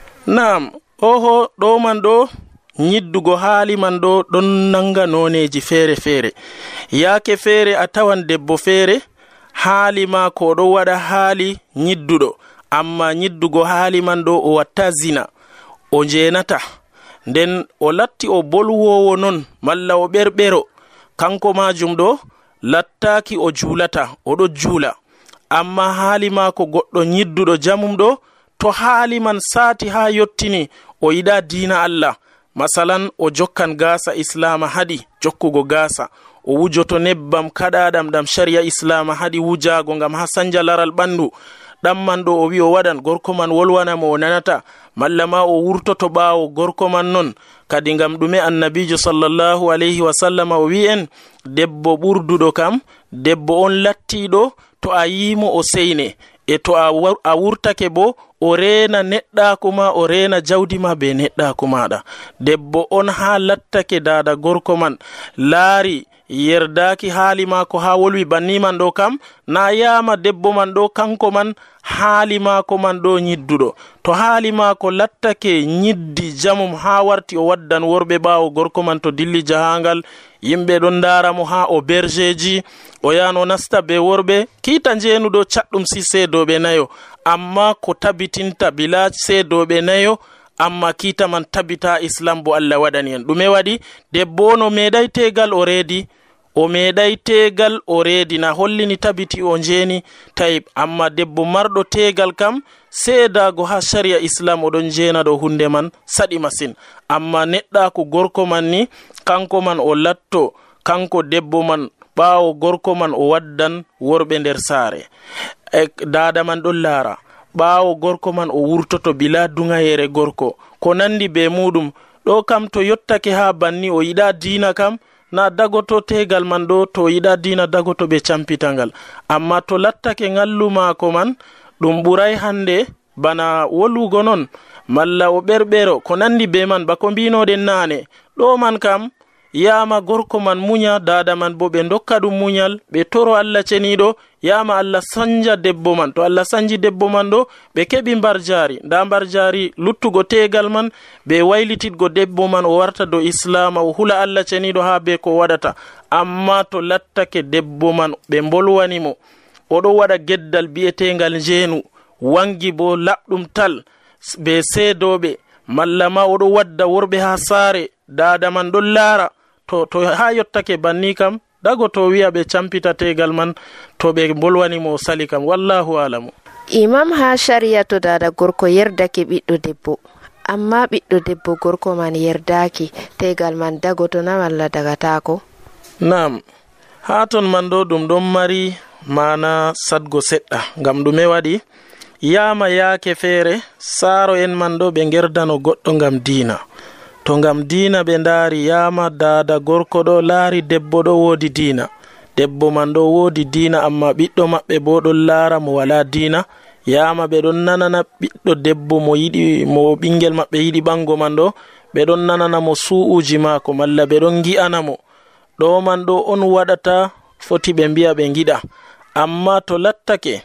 na'am oho ɗo man ɗo nyiddugo haali man ɗo ɗon nanga noneji feere feere yaake feere a tawan debbo feere haali ma ko ɗo waɗa haali nyidduɗo amma nyiddugo haali man ɗo o watta zina o jenata nden o latti o bolwowo non malla o ɓerɓero kanko majum ɗo lattaki o julata oɗo jula amma haali mako goɗɗo nyidduɗo jamum ɗo to haali man sati ha yottini o yiɗa dina Allah masalan o jokkan gasa islama haɗi jokkugo gasa o wujoto nebbam kaɗaɗam ɗam sharia islama haɗi wujago ngam ha sanja laral ɓandu ɗamman ɗo o wi o waɗan gorko man wolwanamo o nanata malla ma o wurtoto ɓawo gorko man non kadi ngam ɗume annabijo sallallahu alayhi wa sallam o wi en debbo ɓurduɗo kam debbo on lattiɗo to a yimo o seyne e to a wurtake bo o rena neɗɗako ma o rena jawdi ma be neɗɗako maɗa debbo on ha lattake dada gorko man laari yerdaki haali mako ha wolwi banni man ɗo kam na yama debbo man ɗo kanko man haali mako man ɗo nyidduɗo to haali mako lattake nyiddi jamum ha warti o waddan worɓe ɓawo gorko man to dilli jahangal yimɓe ɗon daramo ha o bergeji o yano nasta be worɓe kiita jeenuɗo caɗɗum si seedoɓe nayo amma ko tabitinta bila seedoɓe nayo amma kiita man tabita islam bo Allah waɗani en ɗume waɗi debbo no meeɗay tegal o reedi o meeɗay tegal o reedi na hollini tabiti o jeeni tayib amma debbo marɗo tegal kam seedago ha sharia islam oɗon jeena ɗo hunde man saɗi masin amma neɗɗako gorko man ni kanko man o latto kanko debbo man ɓawo gorko man o waddan worɓe nder saare dada man ɗon laara ɓawo gorko man o wurtoto bila dungayere gorko ko nandi be muɗum ɗo kam to yottake ha banni o yiɗa diina kam na dagoto tegal man ɗo to yiɗa dina dagoto ɓe campitangal amma to lattake ngallu mako man ɗum ɓuray hande bana wolugo non malla o ɓerɓero ko nandi be man bako mbinoɗen nane ɗo man kam yama gorko man munya dada man bo ɓe dokka ɗum munyal ɓe toro Allah ceniɗo yama Allah sanja debbo man. To Allah sanji debbo man ɗo ɓe keɓi mbar jari, nda mbar jari luttugo tegal man ɓe waylititgo debbo man o warta do islama o hula Allah ceniɗo ha be ko waɗata. Amma to lattake debbo man ɓe bolwanimo oɗo waɗa geddal bi'etegal jeenu wangi bo laɓɗum tal be seedoɓe malla ma oɗo wadda worɓe ha saare dada man ɗon laara to ha yottake banni kam dago to wi'a ɓe campita tegal man to ɓe bolwanimo sali kam wallahu alamu. Imam ha sharia to dada gorko yerdake ɓiɗɗo debbo amma ɓiɗɗo debbo gorko man yerdaki tegal man dago to na walla dagatako? Nam ha ton man ɗo ɗum ɗon mari mana sadgo seɗɗa ngam ɗume waɗi yama yaake feere saaro en man ɗo ɓe gerdano goɗɗo ngam diina. To ngam diina ɓe ndaari yama dada gorko ɗo laari debbo ɗo woodi diina, debbo man ɗo woodi diina amma ɓiɗɗo maɓɓe bo ɗon laara mo wala diina, yama ɓe ɗon nanana ɓiɗɗo debbo mo ɓingel maɓɓe yiɗi ɓango man ɗo ɓe ɗon nanana mo su'uji maako malla ɓe ɗon gi'ana mo. ɗo man ɗo on waɗata foti ɓe mbi'a ɓe giɗa. Amma to lattake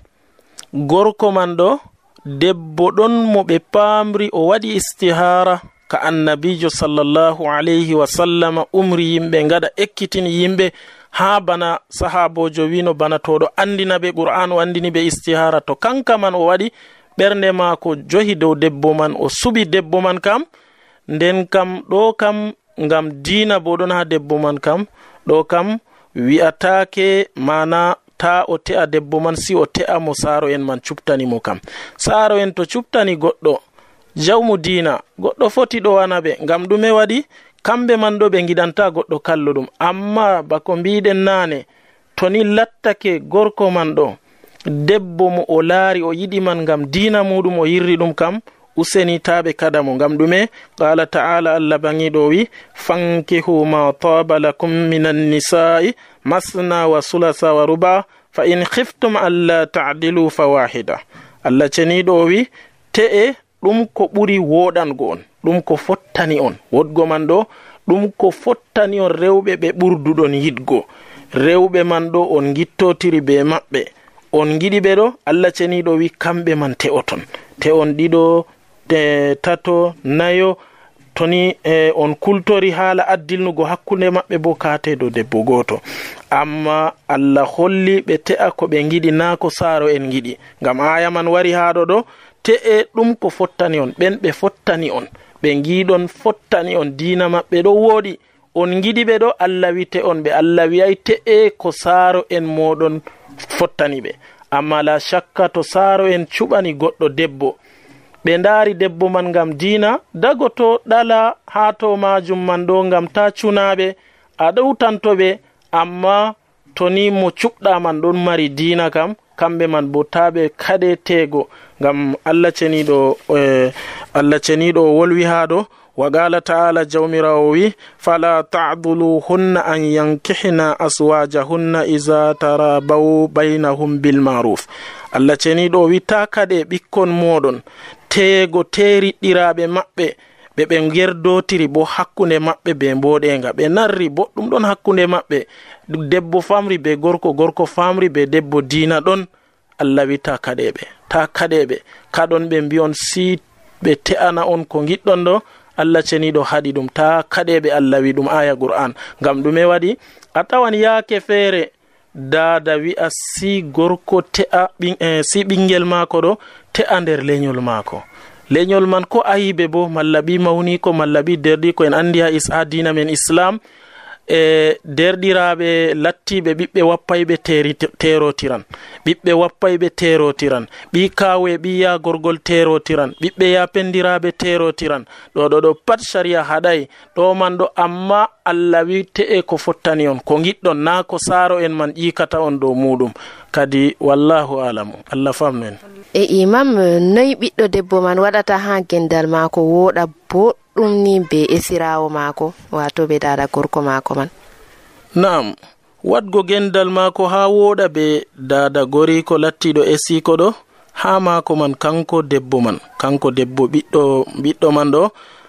gorko man ɗo debbo ɗon mo ɓe paamri o waɗi istihara ka annabijo sallallahu alayhi wa sallama umri yimɓe ngada ekkitini yimɓe ha bana sahabojo wino bana toɗo andina ɓe qur'an o andini ɓe istihara to kanka man o waɗi ɓernde maako johi dow debbo man o suɓi debbo man kam nden kam ɗo kam ngam diina bo ɗon ha debbo man kam ɗo kam wi'atake mana ta o te'a debbo man si o te'a mo saaro en man cuptani mo kam. Saaro en to cuptani goɗɗo jawmu diina goɗɗo foti ɗo wana ɓe ngam ɗume waɗi kamɓe man ɗo ɓe giɗanta goɗɗo kalluɗum. Amma bako mbiɗen nane to ni lattake gorko man ɗo debbo mo o laari o yiɗi man ngam diina muɗum o yirri ɗum kam useni taɓe kada mo ngam ɗume qala ta'ala Allah bangiɗo wi fankihu ma taba lakum minan nisa'i masna wa sulasa wa ruba fa in khiftum alla ta'dilu fawahida. Allah ceniɗo wi te'e ɗum ko ɓuri woɗango on ɗum ko fottani on wodgo man ɗo ɗum ko fottani on rewɓe ɓe ɓurduɗon yidgo rewɓe man ɗo on gittotiri be maɓɓe on giɗi ɓe ɗo Allah ceniɗo wi kamɓe man te'oton te'on ɗiɗo tato nayo toni on kultori haala addilnugo hakkunde maɓɓe bo kate do debbo goto. Amma Allah holli ɓe te'a ko ɓe giɗi na ko saaro en giɗi ngam aya man wari haɗo ɗo te'e ɗum ko fottani on ɓen ɓe fottani on ɓe giɗon fottani on diina maɓɓe ɗo woɗi on giɗi ɓe ɗo Allah wite on ɓe Allah wiyay te'e ko saaro en moɗon fottani ɓe. Amma la shakka to saaro en cuɓani goɗɗo debbo ɓe ndaari debbo man ngam diina dago to ɗala ha to majum man ɗo ngam ta cunaɓe a ɗowtantoɓe. Amma to ni mo cuɓɗa man ɗon mari diina kam kamɓe man bo taɓe kaɗe teego ngam Allah ceniɗo wolwi ha ɗo wa qala ta'ala jawmirawo wi fala ta'dhuluhunna an yankihna aswajahunna iza tarabaw bainahum bil ma'ruf. Allah ceniɗo wi ta kaɗe ɓikkon moɗon teego teriɗɗiraɓe maɓɓe ɓe gerdotiri bo hakkunde maɓɓe be mboɗenga ɓe narri boɗɗum ɗon hakkunde maɓɓe debbo famri be gorko gorko famri be debbo diina ɗon. Allah wi ta kaɗeɓe kaɗon ɓe mbiyon si ɓe te'ana on ko giɗɗon ɗo Allah ceniɗo haɗi ɗum ta kaɗeɓe Allah wi ɗum aya qur'an ngam ɗume waɗi a tawan yaake feere dada wi'a si gorko te'a si ɓingel maako ɗo te'a nder leñol maako leñol man ko ayibe bo malla ɓi mawni ko malla ɓi derɗi ko en andi ha dina men islam derɗiraɓe lattiɓe ɓiɓɓe wappayɓe terotiran ɓiɓɓe wappayɓe terotiran ɓi kawe ɓi ya gorgol terotiran ɓiɓɓe ya pendiraɓe terotiran ɗo pat sharia haɗay ɗo man ɗo. Amma Allah wi te'e ko fottani on ko giɗɗon na ko saaro en man ƴikata on dow muɗum kadi wallahu alamu Allah famnen. Imam noyi ɓiɗɗo debbo man waɗata ha gendal maako woɗa boɗɗum ni be esirawo maako wato be dada gorko maako man? Naam, wadgo gendal maako ha woɗa be dada goriko lattiɗo esiko ɗo ha maako man kanko debbo ɓiɗɗo man ɗo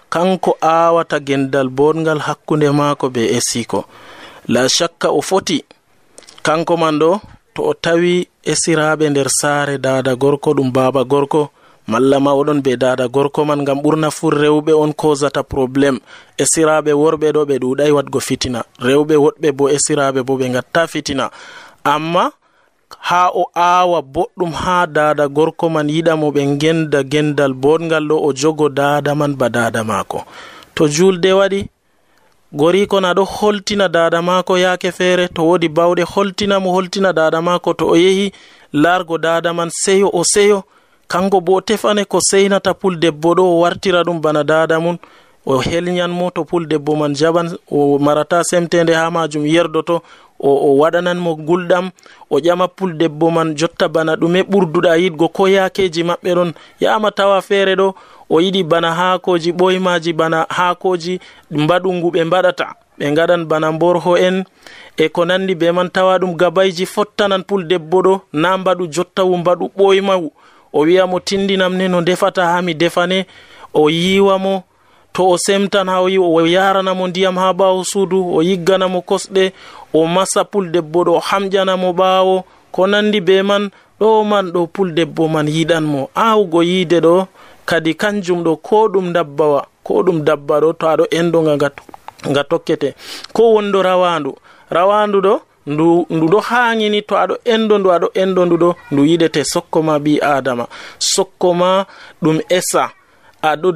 kanko awata gendal bodngal hakkunde maako be esiko. La shakka o foti kanko man ɗo to o tawi esiraɓe nder saare dada gorko ɗum baba gorko malla ma oɗon be dada gorko man, ngam ɓurna fu rewɓe on kozata probléme. esiraɓe worɓe ɗo ɓe ɗuɗai wadgo fitina, rewɓe woɗɓe bo esiraɓe bo ɓe gatta fitina. Amma ha o awa boɗɗum ha dada gorko man yiɗamo ɓe genda gendal bodngal ɗo, o jogo dada man ba dada mako. To julde waɗi goriko na ɗo holtina dada mako yake feere, to wodi bawɗe holtina dada mako, to o yehi largo dada man seyo o seyo, kanko bo tefane ko seynata puldebbo ɗo o wartira ɗum bana dada mun, o helnyanmo. to puldebbo man jaban o marata semtende ha majum yerdoto, o waɗanan mo gulɗam, o ƴama puldebbo man jotta bana ɗume ɓurduɗa yiɗgo, ko yakeji maɓɓe ɗon yama tawa feere ɗo o yiɗi bana haakoji ɓoymaji, bana haakoji mbaɗungu ɓe mbaɗata, ɓe gaɗan bana mborho en e ko nandi be man, tawa ɗum gabayji fottanan puldebbo ɗo, na mbaɗu jottawu mbaɗu ɓoymawu. o wiyamo tindinam ne no defata ha mi defane, o yiwamo. to o semtan ha o yaranamo ndiyam ha ɓawo suudu, o yigganamo kosɗe, o masa puldebbo ɗo, o hamƴanamo ɓawo, ko nandi be man. ɗo man ɗo puldebbo man yiɗanmo. awugo yiide ɗo kadi kanjum ɗo ko ɗum dabba ɗo, to aɗo endo nga tokkete, ko wondo rawandu ɗo ndu ɗo hangini, to aɗo endo ndu ɗo ndu yiɗete sokkoma bi adama, sokkoma ɗum esa, aɗo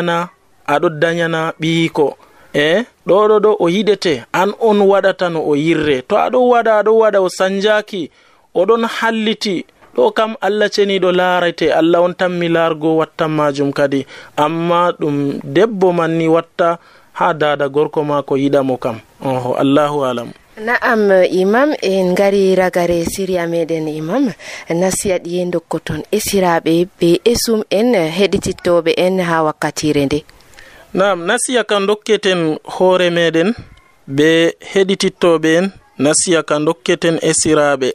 danyana ɓiiko ɗo o yiɗete an on waɗata no o yirre. to aɗo waɗa o sanjaki, oɗon halliti, ɗo kam Allah ceniɗo laarete, Allah on tammi largo wattan majum kadi. amma ɗum debbo man ni watta ha dada gorko mako yiɗamo kam. Allahu alam. Na'am imam, en ngari ragare siriya meɗen imam, nasiya ɗi en dokkoton esiraɓe be esum en heɗitittoɓe en ha wakkatire nde. Naam, nasiya kan dokketen hoore meɗen be heɗitittoɓe en, nasiya kan dokketen esiraɓe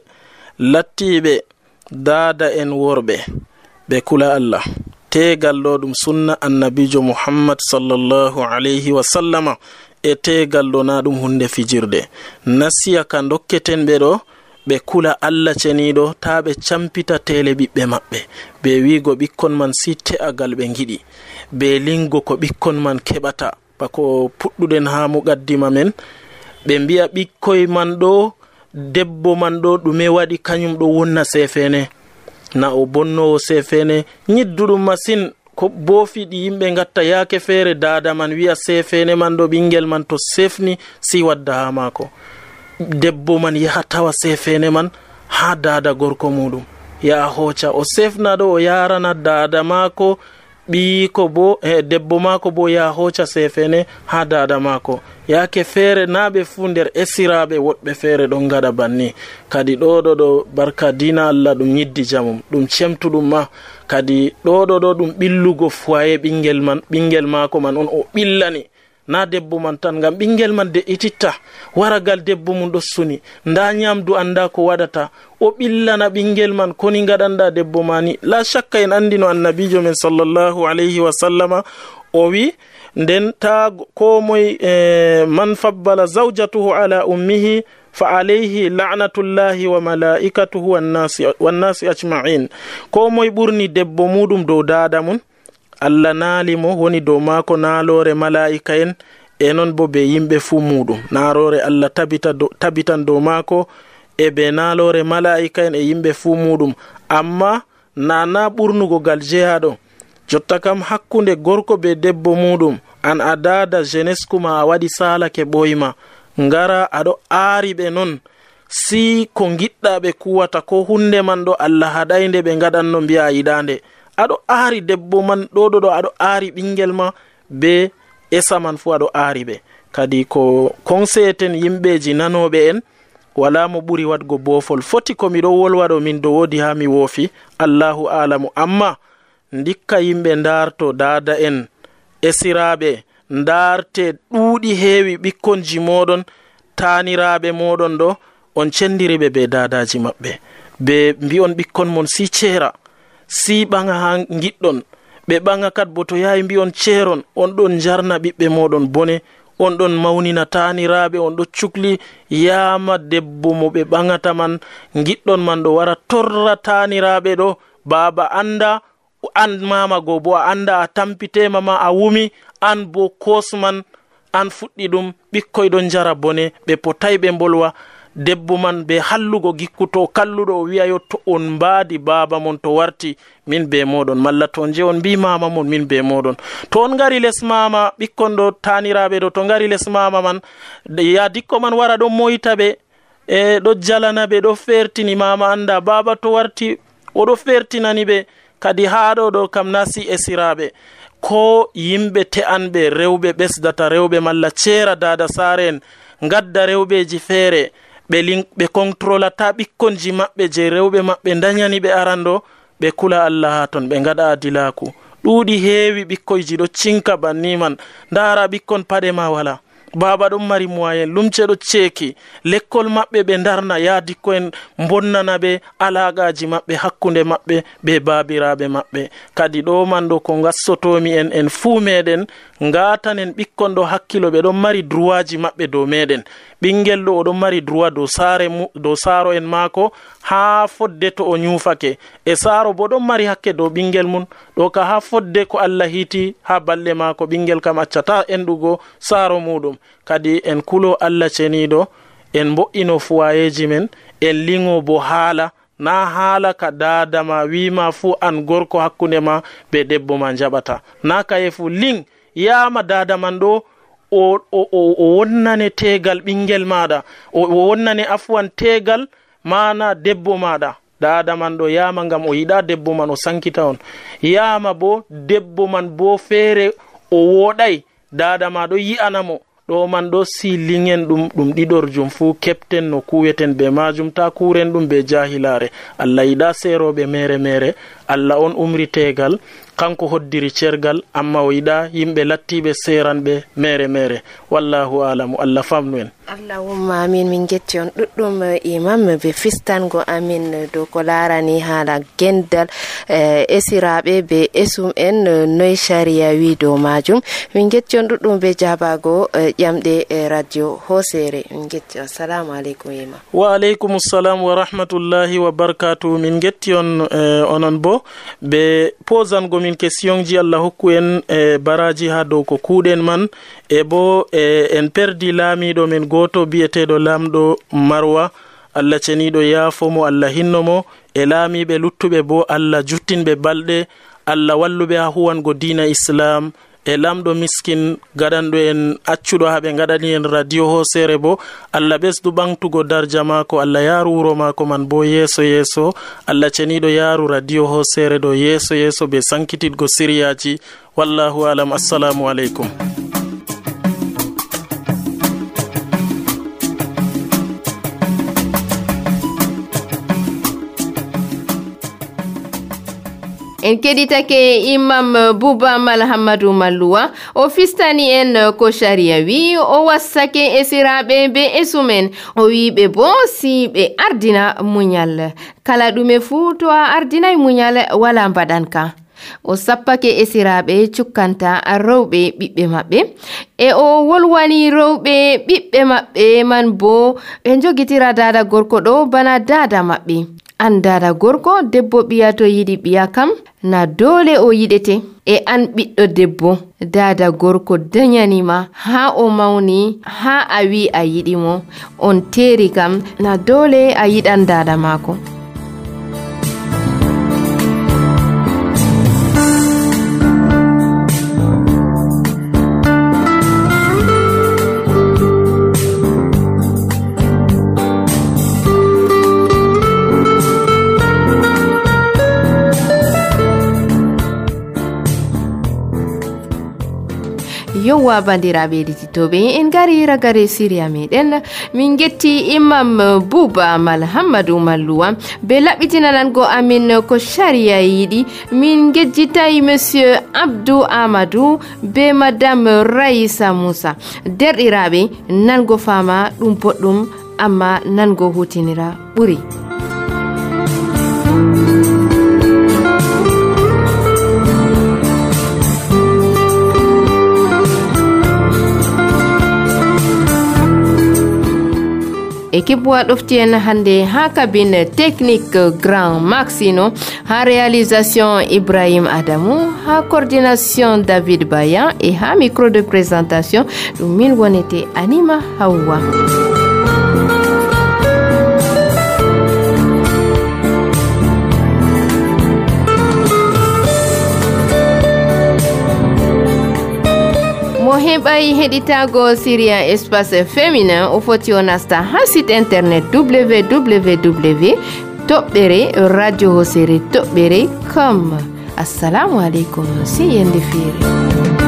lattiɓe dada en worɓe ɓe kula Allah. tegal ɗo ɗum sunna annabijo Muhammad sallallahu alayhi wa sallama, e tegal ɗo na ɗum hunde fijirde. nasiya kan dokketen ɓe ɗo ɓe kula Allah ceniɗo, ta ɓe campita tele ɓiɓɓe maɓɓe, ɓe wigo ɓikkon man si te'agal ɓe giɗi, ɓe lingo ko ɓikkon man keɓata, bako puɗɗuɗen ha muqaddima men. ɓe mbiya ɓikkoy man ɗo, debbo man ɗo ɗume waɗi kañum ɗo wonna sefene, na o bonnowo sefene ñidduɗum masin. ko bofiɗi yimɓe gatta yake feere dada man wiya sefene man ɗo ɓingel man to sefni si wadda ha mako, debbo man yaha tawa sefene man ha dada gorko muɗum, ya hoca o sefna ɗo o yarana dada mako, ɓiiko bo debbo mako bo ya hoca sefene ha dada mako. yake feere naɓe fu nder esiraɓe woɗɓe feere ɗon gaɗa banni. kadi ɗo barka dina Allah ɗum yiddi jamum, ɗum cemtuɗum ma. kadi ɗo ɗum ɓillugo foye ɓingel mako man on o ɓillani, na debbo man tan, ngam ɓingel man de'ititta waragal debbo mum ɗo suni, nda nyamdu anda ko waɗata, o ɓillana ɓingel man koni gaɗanɗa debbo mani. la shakka en andi no annabijo men sallallahu alayhi wa sallama o wi, nden ta ko moy man fabbala zawjatuhu ala ummihi fa alayhi la'natullahi wa malaikatuhu wannasi ajma'in. ko moy ɓurni debbo muɗum dow dada mun, Allah naalimo woni dow maako naalore malaika en, e non bo be yimɓe fu muɗum. naarore Allah tabitan dow maako e be naalore malaika en e yimɓe fu muɗum. amma nana ɓurnugo gal jeyaɗo, jotta kam hakkunde gorko be debbo muɗum, an a dada jeunesse kuma a waɗi salake ɓoyma, ngara aɗo aari ɓe non, si ko giɗɗa ɓe kuwata ko hunde man ɗo Allah haɗaynde ɓe gaɗanno mbiya yiɗande, aɗo aari debbo man ɗo aɗo aari ɓingel ma be esa man fu aɗo aari ɓe. kadi ko konseten yimɓeji nanoɓe en, wala mo ɓuri wadgo bofol. foti ko miɗo wolwaɗo min do wodi ha mi woofi, Allahu alamu. amma ndikka yimɓe darto dada en esiraɓe, darte ɗuuɗi heewi ɓikkonji moɗon, taniraɓe moɗon ɗo, on cendiriɓe be dadaji maɓɓe, be mbi'on ɓikkon mon si ceera, si ɓaŋa ha giɗɗon, ɓe ɓaŋa kat bo to yahi mbi on ceeron on ɗon jarna ɓiɓɓe moɗon bone on ɗon mawnina taniraɓe on ɗo cukli yama debbo mo ɓe ɓaŋata man giɗɗon man ɗo wara torra taniraɓe ɗo baba anda an mama go bo a anda a tampitema ma a wumi an bo kosman an fuɗɗi ɗum ɓikkoy ɗon jara bone ɓe potay ɓe bolwa debbo man be hallugo gikkuto kalluɗo o wi'a yo to on mbaadi baba mon to warti min be moɗon malla to je on mbi mama mon min be moɗon to on ngari les mama ɓikkon ɗo taniraɓe ɗo to ngari les mama man ya dikko man wara ɗon moyta ɓe e ɗo jalana ɓe ɗo fertini mama anda baba to warti oɗo fertinani ɓe kadi haɗo ɗo kam nasi esiraɓe ko yimɓe te'anɓe rewɓe ɓesdata rewɓe malla ceera dada sare en gadda rewɓeji feere ɓe controlata ɓikkonji maɓɓe je rewɓe maɓɓe dañani ɓe arando ɓe kula Allah ha ton ɓe gaɗa adilaku ɗuuɗi heewi ɓikkoyji ɗo cinka banni man ndara ɓikkon paɗe ma wala baba ɗon mari moyen lumce ɗo ceeki lekkol maɓɓe ɓe darna yaadikko en bonnana ɓe alagaji maɓɓe hakkunde maɓɓe ɓe babiraɓe maɓɓe kadi ɗo man ɗo ko gassotomi en fuu meɗen ngatanen ɓikkon ɗo hakkilo ɓe ɗon mari droit ji maɓɓe dow meɗen ɓingel ɗo oɗon mari droit dow saaro en maako ha fodde to o nyufake e saaro bo ɗon mari hakke dow ɓingel mum ɗo ka ha fodde ko Allah hiti ha balɗe maako ɓingel kam accata enɗugo saaro muɗum kadi en kulo Allah ceniɗo en mbo'ino fuwayeji men en lingo bo haala na haala ka dadama wima fu an gorko hakkunde ma be debbo ma jaɓata na kaye fu ling yama dadaman ɗo o wonnane tegal ɓingel maɗa o wonnane afwan tegal mana debbo maɗa dada man ɗo yama ngam o yiɗa debbo man o sankita on yama bo debbo man bo feere o woɗay dada ma ɗo yi'anamo ɗo man ɗo si lingen ɗum ɗiɗorjum fu kepten no kuweten be majum ta kuren ɗum be jahilare Allah yiɗa seroɓe mere Allah on umri tegal kanko hoddiri cergal amma o yiɗa yimɓe lattiɓe seranɓe mere wallahu alamu Allah famnu en Allahumma amin min getti on ɗuɗɗum imam be fistango amin dow ko larani haala gendal esiraɓe be esum en noy sharia wi dow majum min getti on ɗuɗɗum be jabago ƴamɗe radio hosere min getti on assalamu aleykum imam wa aleykum assalam wa rahmatullahi wa barakatuh min getti on onon bo be posango min question ji Allah hokku en baraji ha dow ko kuuɗen man e bo en perdi laamiɗo men goto biyeteɗo lamɗo Marwa Allah ceniɗo yaafomo Allah hinnomo e laamiɓe luttuɓe bo Allah juttinɓe balɗe Allah walluɓe ha huwango diina islam e lamɗo miskin gaɗanɗo en accuɗo ha ɓe gaɗani en radio hosere bo Allah ɓesdu ɓamtugo darja mako Allah yaaru wuro mako man bo yeeso Allah ceniɗo yaaru radio hosere ɗo yeeso ɓe sankititgo siriyaji wallahu alam assalamu aleykum en keɗitake imam Bouba Malhamadou Malluwa o fistani en ko sharia wi o wassake esiraɓe be esumen o wiɓe bo si ɓe ardina muñal kala ɗume fuu to a ardinay muñal wala mbaɗanka o sappake esiraɓe cukkanta rewɓe ɓiɓɓe maɓɓe e o wolwani rewɓe ɓiɓɓe maɓɓe man bo ɓe jogitira dada gorko ɗo bana dada maɓɓe an dada gorko debbo ɓiya to yiɗi ɓiya kam na dole o yiɗete e an ɓiɗɗo debbo dada gorko dañanima ha o mawni ha a wi a yiɗimo on teeri kam na dole a yiɗan dada maako yowa bandiraɓe ɗiɗitoɓe en gari ragare siriya meɗen min getti imam Bouba Malhamadou Malluwa be laɓɓitinanango amin ko sharia yiɗi min gejjitayi monsieur Abdou Amadou be madame Raissa Moussa derɗiraɓe nango fama ɗum boɗɗum amma nango hutinira ɓuri équipe waɗofti en hande ha cabine technique grand maxino, ha réalisation Ibrahim Adamou, ha coordination David Bayan et ha micro de présentation ɗum min wonete Anima Hawa. Mo heɓay heɗitago Syria espace féminin o foti o nasta ha site internet www.radio-hosere.com. Assalamu alaikum, si yende fere.